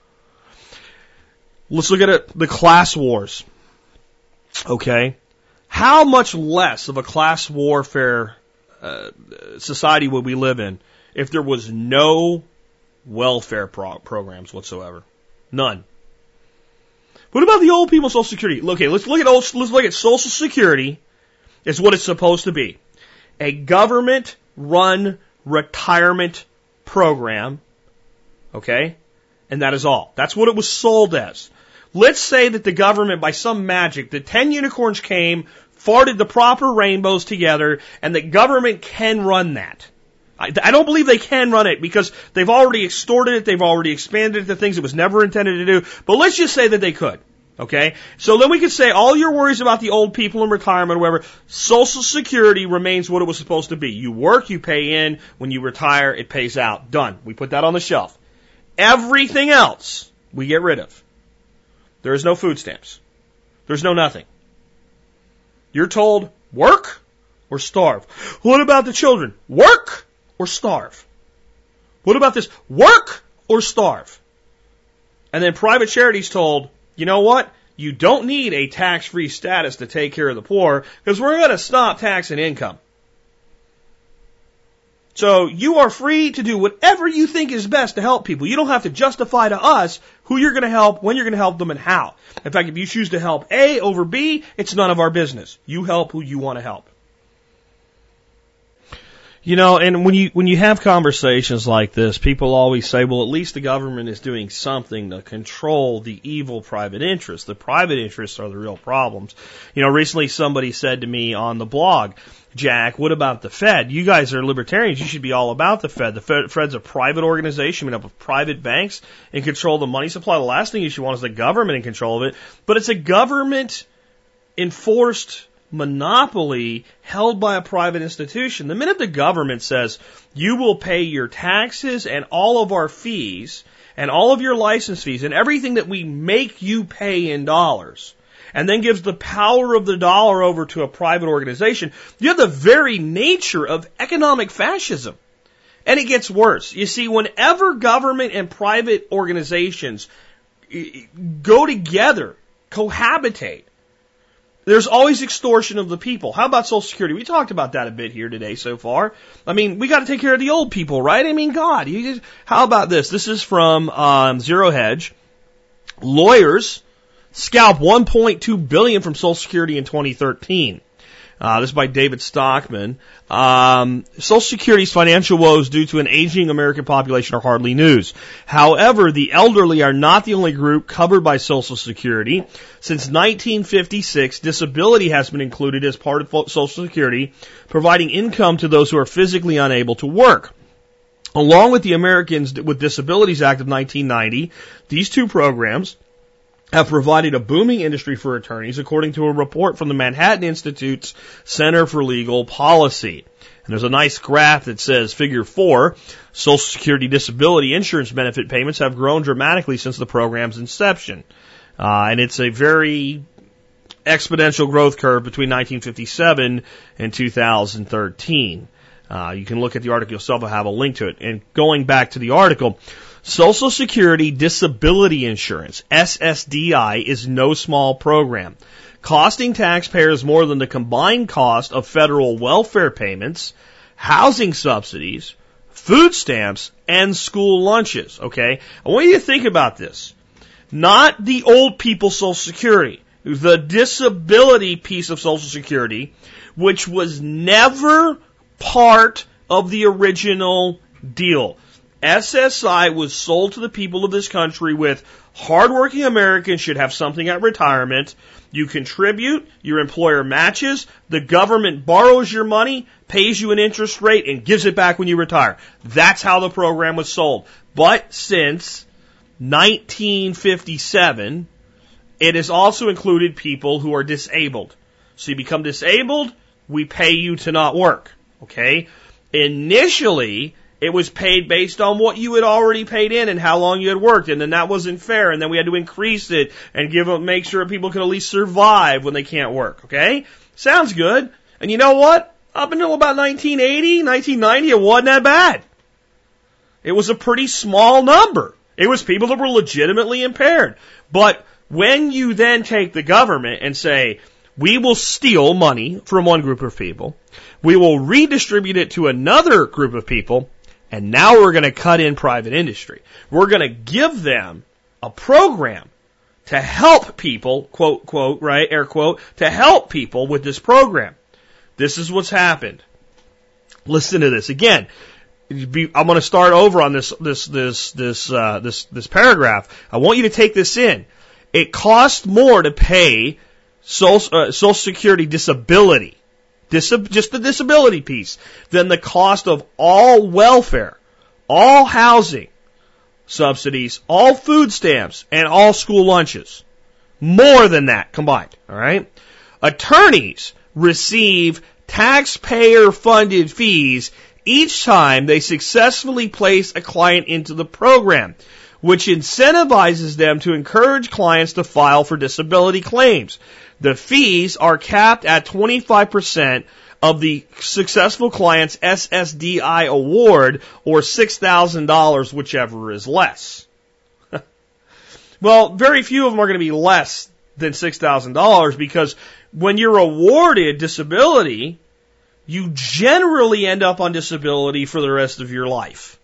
Let's look at it, the class wars. Okay? How much less of a class warfare uh, society would we live in if there was no welfare pro- programs whatsoever? None. What about the old people Social Security? Okay, let's look at old, let's look at Social Security as what it's supposed to be. A government-run retirement program, okay? And that is all. That's what it was sold as. Let's say that the government, by some magic, the ten unicorns came, farted the proper rainbows together, and the government can run that. I, I don't believe they can run it because they've already extorted it, they've already expanded it to things it was never intended to do, but let's just say that they could. Okay? So then we could say all your worries about the old people in retirement or whatever, Social Security remains what it was supposed to be. You work, you pay in, when you retire, it pays out. Done. We put that on the shelf. Everything else, we get rid of. There is no food stamps. There's no nothing. You're told, work or starve. What about the children? Work or starve. What about this? Work or starve. And then private charity's told, you know what? You don't need a tax-free status to take care of the poor because we're going to stop taxing income. So you are free to do whatever you think is best to help people. You don't have to justify to us who you're going to help, when you're going to help them, and how. In fact, if you choose to help A over B, it's none of our business. You help who you want to help. You know, and when you when you have conversations like this, people always say, well, at least the government is doing something to control the evil private interests. The private interests are the real problems. You know, recently somebody said to me on the blog, Jack, what about the Fed? You guys are libertarians. You should be all about the Fed. The Fed, Fed's a private organization made up of private banks and control the money supply. The last thing you should want is the government in control of it. But it's a government-enforced monopoly held by a private institution. The minute the government says, you will pay your taxes and all of our fees and all of your license fees and everything that we make you pay in dollars, and then gives the power of the dollar over to a private organization, you have the very nature of economic fascism. And it gets worse. You see, whenever government and private organizations go together, cohabitate, there's always extortion of the people. How about Social Security? We talked about that a bit here today so far. I mean, we got to take care of the old people, right? I mean, God, you just, how about this? This is from um, Zero Hedge. Lawyers scalp one point two billion dollars from Social Security in twenty thirteen. Uh, this is by David Stockman. Um, Social Security's financial woes due to an aging American population are hardly news. However, the elderly are not the only group covered by Social Security. Since nineteen fifty-six, disability has been included as part of Social Security, providing income to those who are physically unable to work. Along with the Americans with Disabilities Act of nineteen ninety, these two programs have provided a booming industry for attorneys, according to a report from the Manhattan Institute's Center for Legal Policy. And there's a nice graph that says, figure four, Social Security disability insurance benefit payments have grown dramatically since the program's inception. Uh, and it's a very exponential growth curve between nineteen fifty-seven and two thousand thirteen. Uh, you can look at the article yourself. I'll have a link to it. And going back to the article, Social Security Disability Insurance, S S D I, is no small program, costing taxpayers more than the combined cost of federal welfare payments, housing subsidies, food stamps, and school lunches, okay? I want you to think about this. Not the old people Social Security, the disability piece of Social Security, which was never part of the original deal. S S I was sold to the people of this country with Hardworking Americans should have something at retirement. You contribute, your employer matches, the government borrows your money, pays you an interest rate, and gives it back when you retire. That's how the program was sold. But since nineteen fifty-seven, it has also included people who are disabled. So you become disabled, we pay you to not work. Okay? Initially, it was paid based on what you had already paid in and how long you had worked, and then that wasn't fair, and then we had to increase it and give them, make sure people could at least survive when they can't work. Okay? Sounds good. And you know what? Up until about nineteen eighty, nineteen ninety, it wasn't that bad. It was a pretty small number. It was people that were legitimately impaired. But when you then take the government and say, we will steal money from one group of people, we will redistribute it to another group of people, and now we're going to cut in private industry. We're going to give them a program to help people, quote, quote, right, air quote, to help people with this program. This is what's happened. Listen to this. Again, I'm going to start over on this, this, this, this, uh, this, this paragraph. I want you to take this in. It costs more to pay Social, uh, Social Security disability, Disab- just the disability piece, than the cost of all welfare, all housing subsidies, all food stamps, and all school lunches. More than that combined, all right? Attorneys receive taxpayer-funded fees each time they successfully place a client into the program, which incentivizes them to encourage clients to file for disability claims. The fees are capped at twenty-five percent of the successful client's S S D I award, or six thousand dollars, whichever is less. Well, very few of them are going to be less than six thousand dollars, because when you're awarded disability, you generally end up on disability for the rest of your life.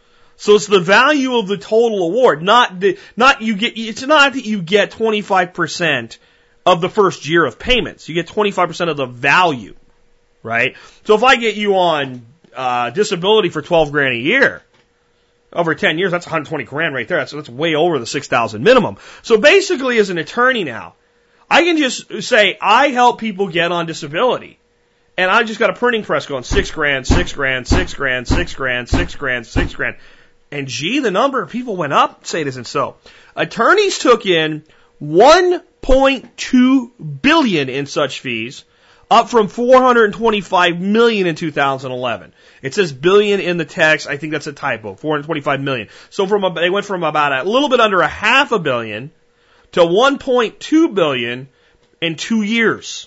So it's the value of the total award, not the, not you get, it's not that you get twenty-five percent of the first year of payments. You get twenty-five percent of the value, right? So if I get you on uh, disability for twelve grand a year, over ten years, that's one hundred twenty grand right there. That's, that's way over the six thousand minimum. So basically, as an attorney now, I can just say, I help people get on disability. And I just got a printing press going, six grand, six grand, six grand, six grand, six grand, six grand. And gee, the number of people went up. Say it isn't so. Attorneys took in one point two billion dollars in such fees, up from four hundred twenty-five million dollars in two thousand eleven. It says billion in the text. I think that's a typo. four hundred twenty-five million dollars. So from a, they went from about a little bit under a half a billion to one point two billion dollars in two years.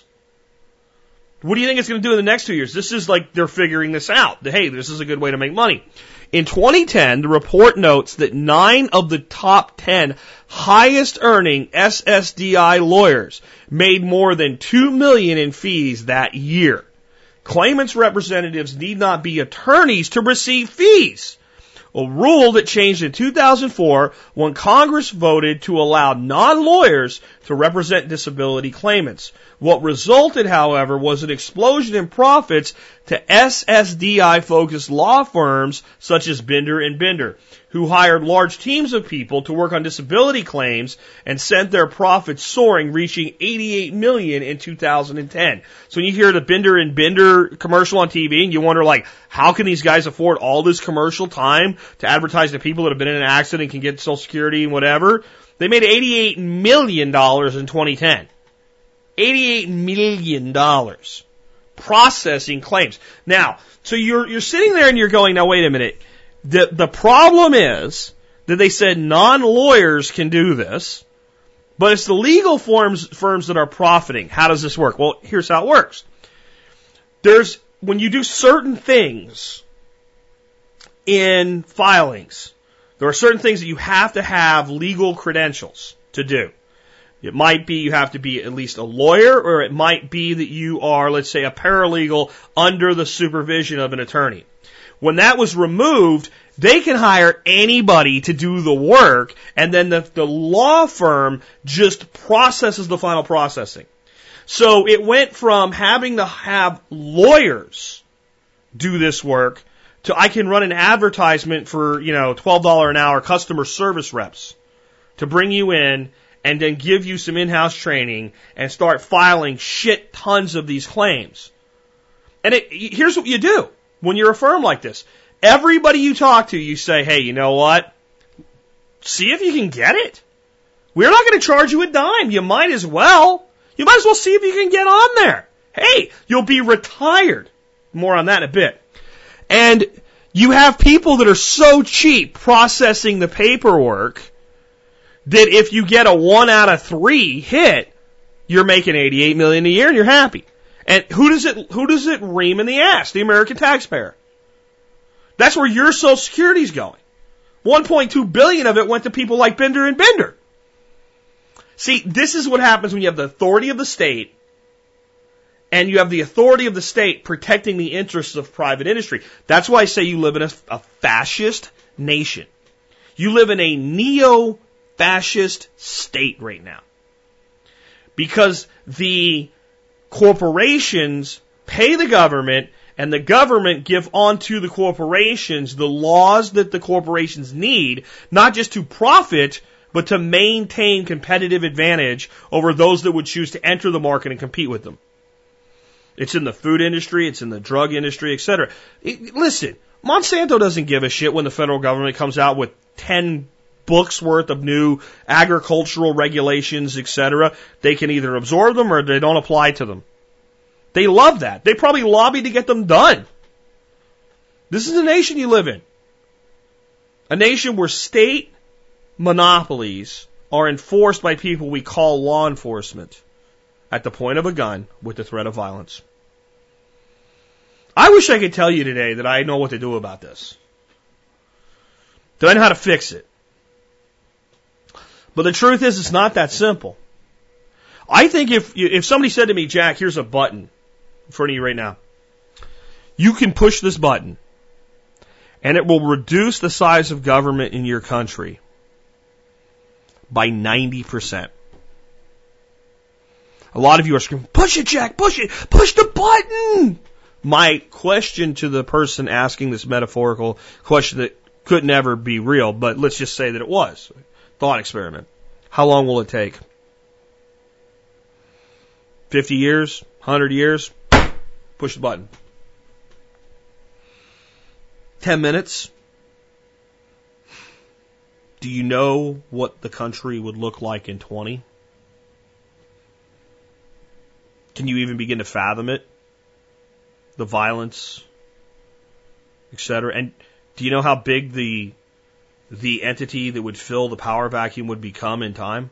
What do you think it's going to do in the next two years? This is like they're figuring this out. Hey, this is a good way to make money. In twenty ten, the report notes that nine of the top ten highest earning S S D I lawyers made more than two million dollars in fees that year. Claimants' representatives need not be attorneys to receive fees. A rule that changed in two thousand four when Congress voted to allow non-lawyers to represent disability claimants. What resulted, however, was an explosion in profits to S S D I-focused law firms such as Binder and Binder, who hired large teams of people to work on disability claims and sent their profits soaring, reaching eighty-eight million dollars in two thousand ten. So when you hear the Binder and Binder commercial on T V, and you wonder, like, how can these guys afford all this commercial time to advertise to people that have been in an accident and can get Social Security and whatever? They made eighty-eight million dollars in twenty ten. eighty-eight million dollars processing claims. Now, so you're you're sitting there and you're going, now wait a minute. The the problem is that they said non-lawyers can do this, but it's the legal firms firms that are profiting. How does this work? Well, here's how it works. There's when you do certain things in filings, there are certain things that you have to have legal credentials to do. It might be you have to be at least a lawyer, or it might be that you are, let's say, a paralegal under the supervision of an attorney. When that was removed, they can hire anybody to do the work, and then the, the law firm just processes the final processing. So it went from having to have lawyers do this work to I can run an advertisement for, you know, twelve dollars an hour customer service reps. to bring you in and then give you some in-house training and start filing shit tons of these claims. And it, here's what you do when you're a firm like this. Everybody you talk to, you say, hey, you know what? See if you can get it. We're not going to charge you a dime. You might as well. You might as well see if you can get on there. Hey, you'll be retired. More on that in a bit. And you have people that are so cheap processing the paperwork that if you get a one out of three hit, you're making eighty-eight million dollars a year and you're happy. And who does it, who does it ream in the ass? The American taxpayer. That's where your Social Security's going. one point two billion dollars of it went to people like Bender and Bender. See, this is what happens when you have the authority of the state and you have the authority of the state protecting the interests of private industry. That's why I say you live in a, a fascist nation. You live in a neo-fascist state right now. Because the corporations pay the government and the government give onto the corporations the laws that the corporations need, not just to profit, but to maintain competitive advantage over those that would choose to enter the market and compete with them. It's in the food industry, it's in the drug industry, et cetera. It, listen, Monsanto doesn't give a shit when the federal government comes out with ten books worth of new agricultural regulations, et cetera. They can either absorb them or they don't apply to them. They love that. They probably lobby to get them done. This is the nation you live in. A nation where state monopolies are enforced by people we call law enforcement at the point of a gun with the threat of violence. I wish I could tell you today that I know what to do about this. That I know how to fix it. But the truth is, it's not that simple. I think if if somebody said to me, Jack, here's a button in front of you right now. You can push this button, and it will reduce the size of government in your country by ninety percent. A lot of you are screaming, push it, Jack, push it, push the button! My question to the person asking this metaphorical question that could never be real, but let's just say that it was. Thought experiment. How long will it take? fifty years? one hundred years? Push the button. ten minutes? Do you know what the country would look like in twenty? Can you even begin to fathom it? The violence, et cetera. And do you know how big the the entity that would fill the power vacuum would become in time?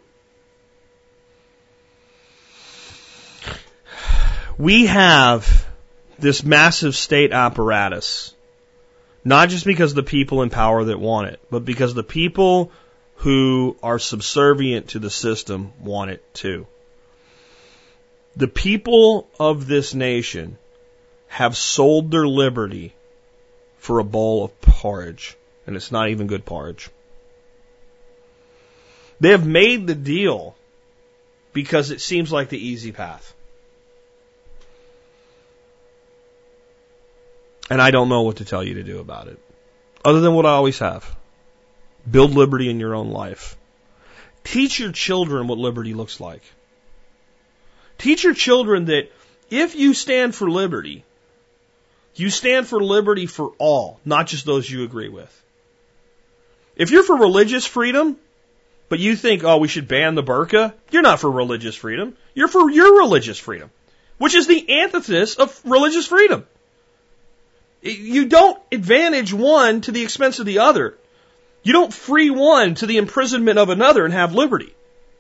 We have this massive state apparatus, not just because of the people in power that want it, but because the people who are subservient to the system want it too. The people of this nation have sold their liberty for a bowl of porridge, and it's not even good porridge. They have made the deal because it seems like the easy path. And I don't know what to tell you to do about it, other than what I always have. Build liberty in your own life. Teach your children what liberty looks like. Teach your children that if you stand for liberty, you stand for liberty for all, not just those you agree with. If you're for religious freedom, but you think, oh, we should ban the burqa, you're not for religious freedom. You're for your religious freedom, which is the antithesis of religious freedom. You don't advantage one to the expense of the other. You don't free one to the imprisonment of another and have liberty.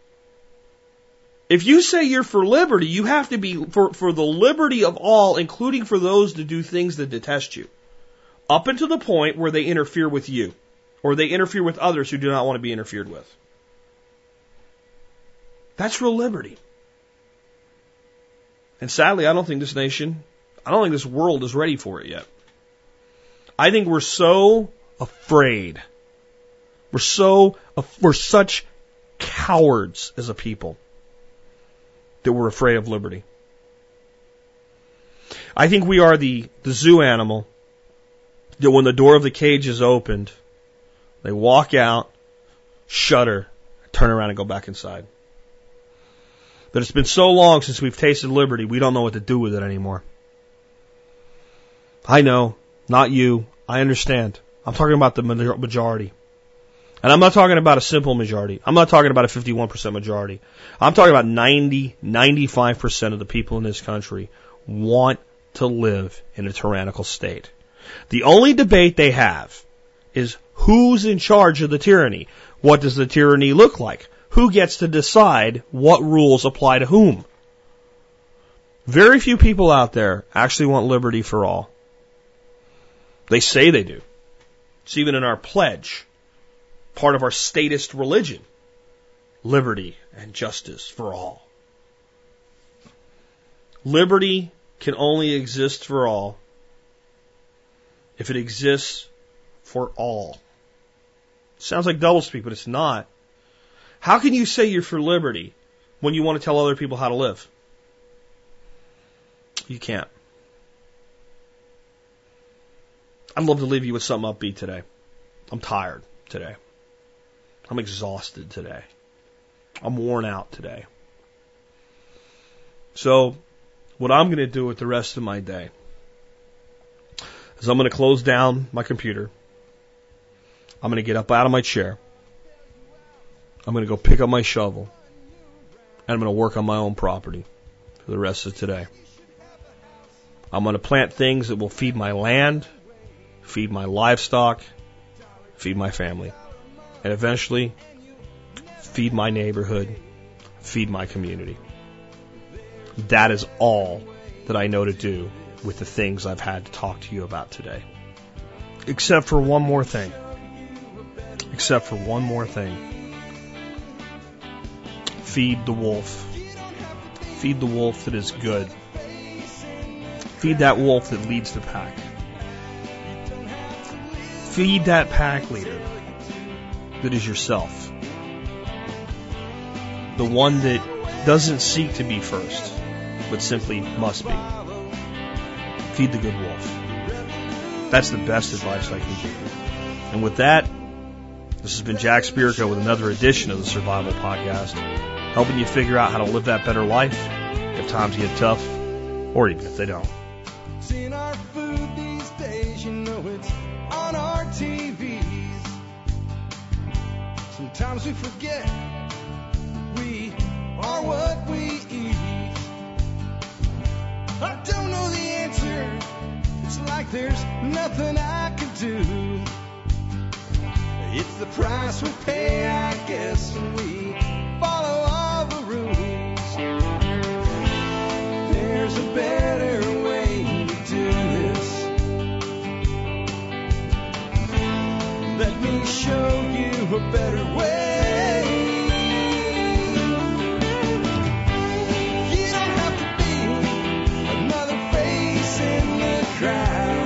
If you say you're for liberty, you have to be for, for the liberty of all, including for those to do things that detest you, up until the point where they interfere with you, or they interfere with others who do not want to be interfered with. That's real liberty. And sadly, I don't think this nation, I don't think this world is ready for it yet. I think we're so afraid. We're so, we're such cowards as a people that we're afraid of liberty. I think we are the, the zoo animal that when the door of the cage is opened, they walk out, shudder, turn around and go back inside. But it's been so long since we've tasted liberty, we don't know what to do with it anymore. I know, not you. I understand. I'm talking about the majority. And I'm not talking about a simple majority. I'm not talking about a fifty-one percent majority. I'm talking about ninety, ninety-five percent of the people in this country want to live in a tyrannical state. The only debate they have is who's in charge of the tyranny. What does the tyranny look like? Who gets to decide what rules apply to whom? Very few people out there actually want liberty for all. They say they do. It's even in our pledge, part of our statist religion, liberty and justice for all. Liberty can only exist for all if it exists for all. Sounds like doublespeak, but it's not. How can you say you're for liberty when you want to tell other people how to live? You can't. I'd love to leave you with something upbeat today. I'm tired today. I'm exhausted today. I'm worn out today. So, what I'm going to do with the rest of my day is I'm going to close down my computer. I'm going to get up out of my chair. I'm going to go pick up my shovel. And I'm going to work on my own property for the rest of today. I'm going to plant things that will feed my land, feed my livestock, feed my family, and eventually feed my neighborhood, feed my community. That is all that I know to do with the things I've had to talk to you about today. Except for one more thing. Except for one more thing. Feed the wolf. Feed the wolf that is good. Feed that wolf that leads the pack. Feed that pack leader that is yourself. The one that doesn't seek to be first, but simply must be. Feed the good wolf. That's the best advice I can give you. And with that, this has been Jack Spirko with another edition of the Survival Podcast, helping you figure out how to live that better life if times get tough, or even if they don't. It's in our food these days, you know it's on our T Vs. Sometimes we forget we are what we eat. I don't know the answer. It's like there's nothing I can do. It's the price we pay, I guess, when we follow all the rules. There's a better way to do this. Let me show you a better way. You don't have to be another face in the crowd.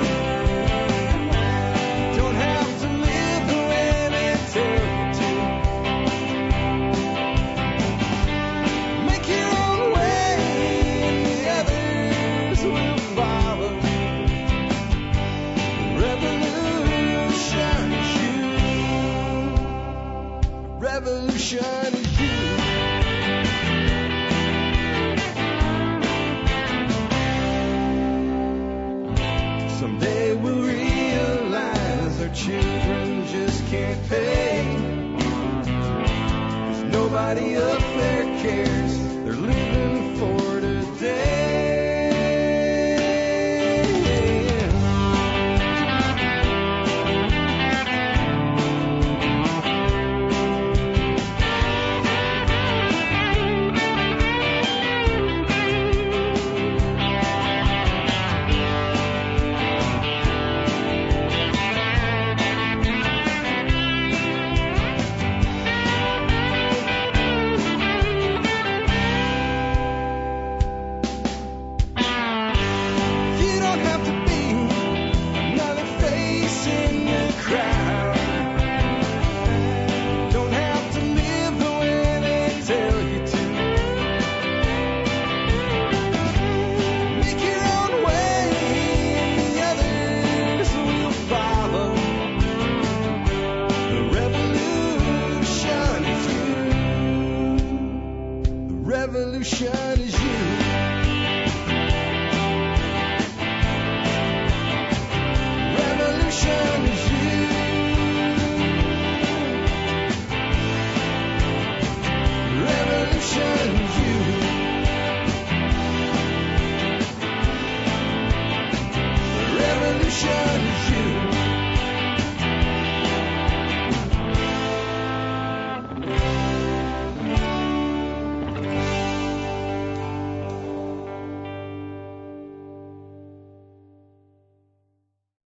Don't have to live the way they tell you to. Make your own way and the others will follow. Revolution is you. Revolution is you. Someday we'll realize our children just can't pay. 'Cause nobody up there cares. They're living for today. ocean.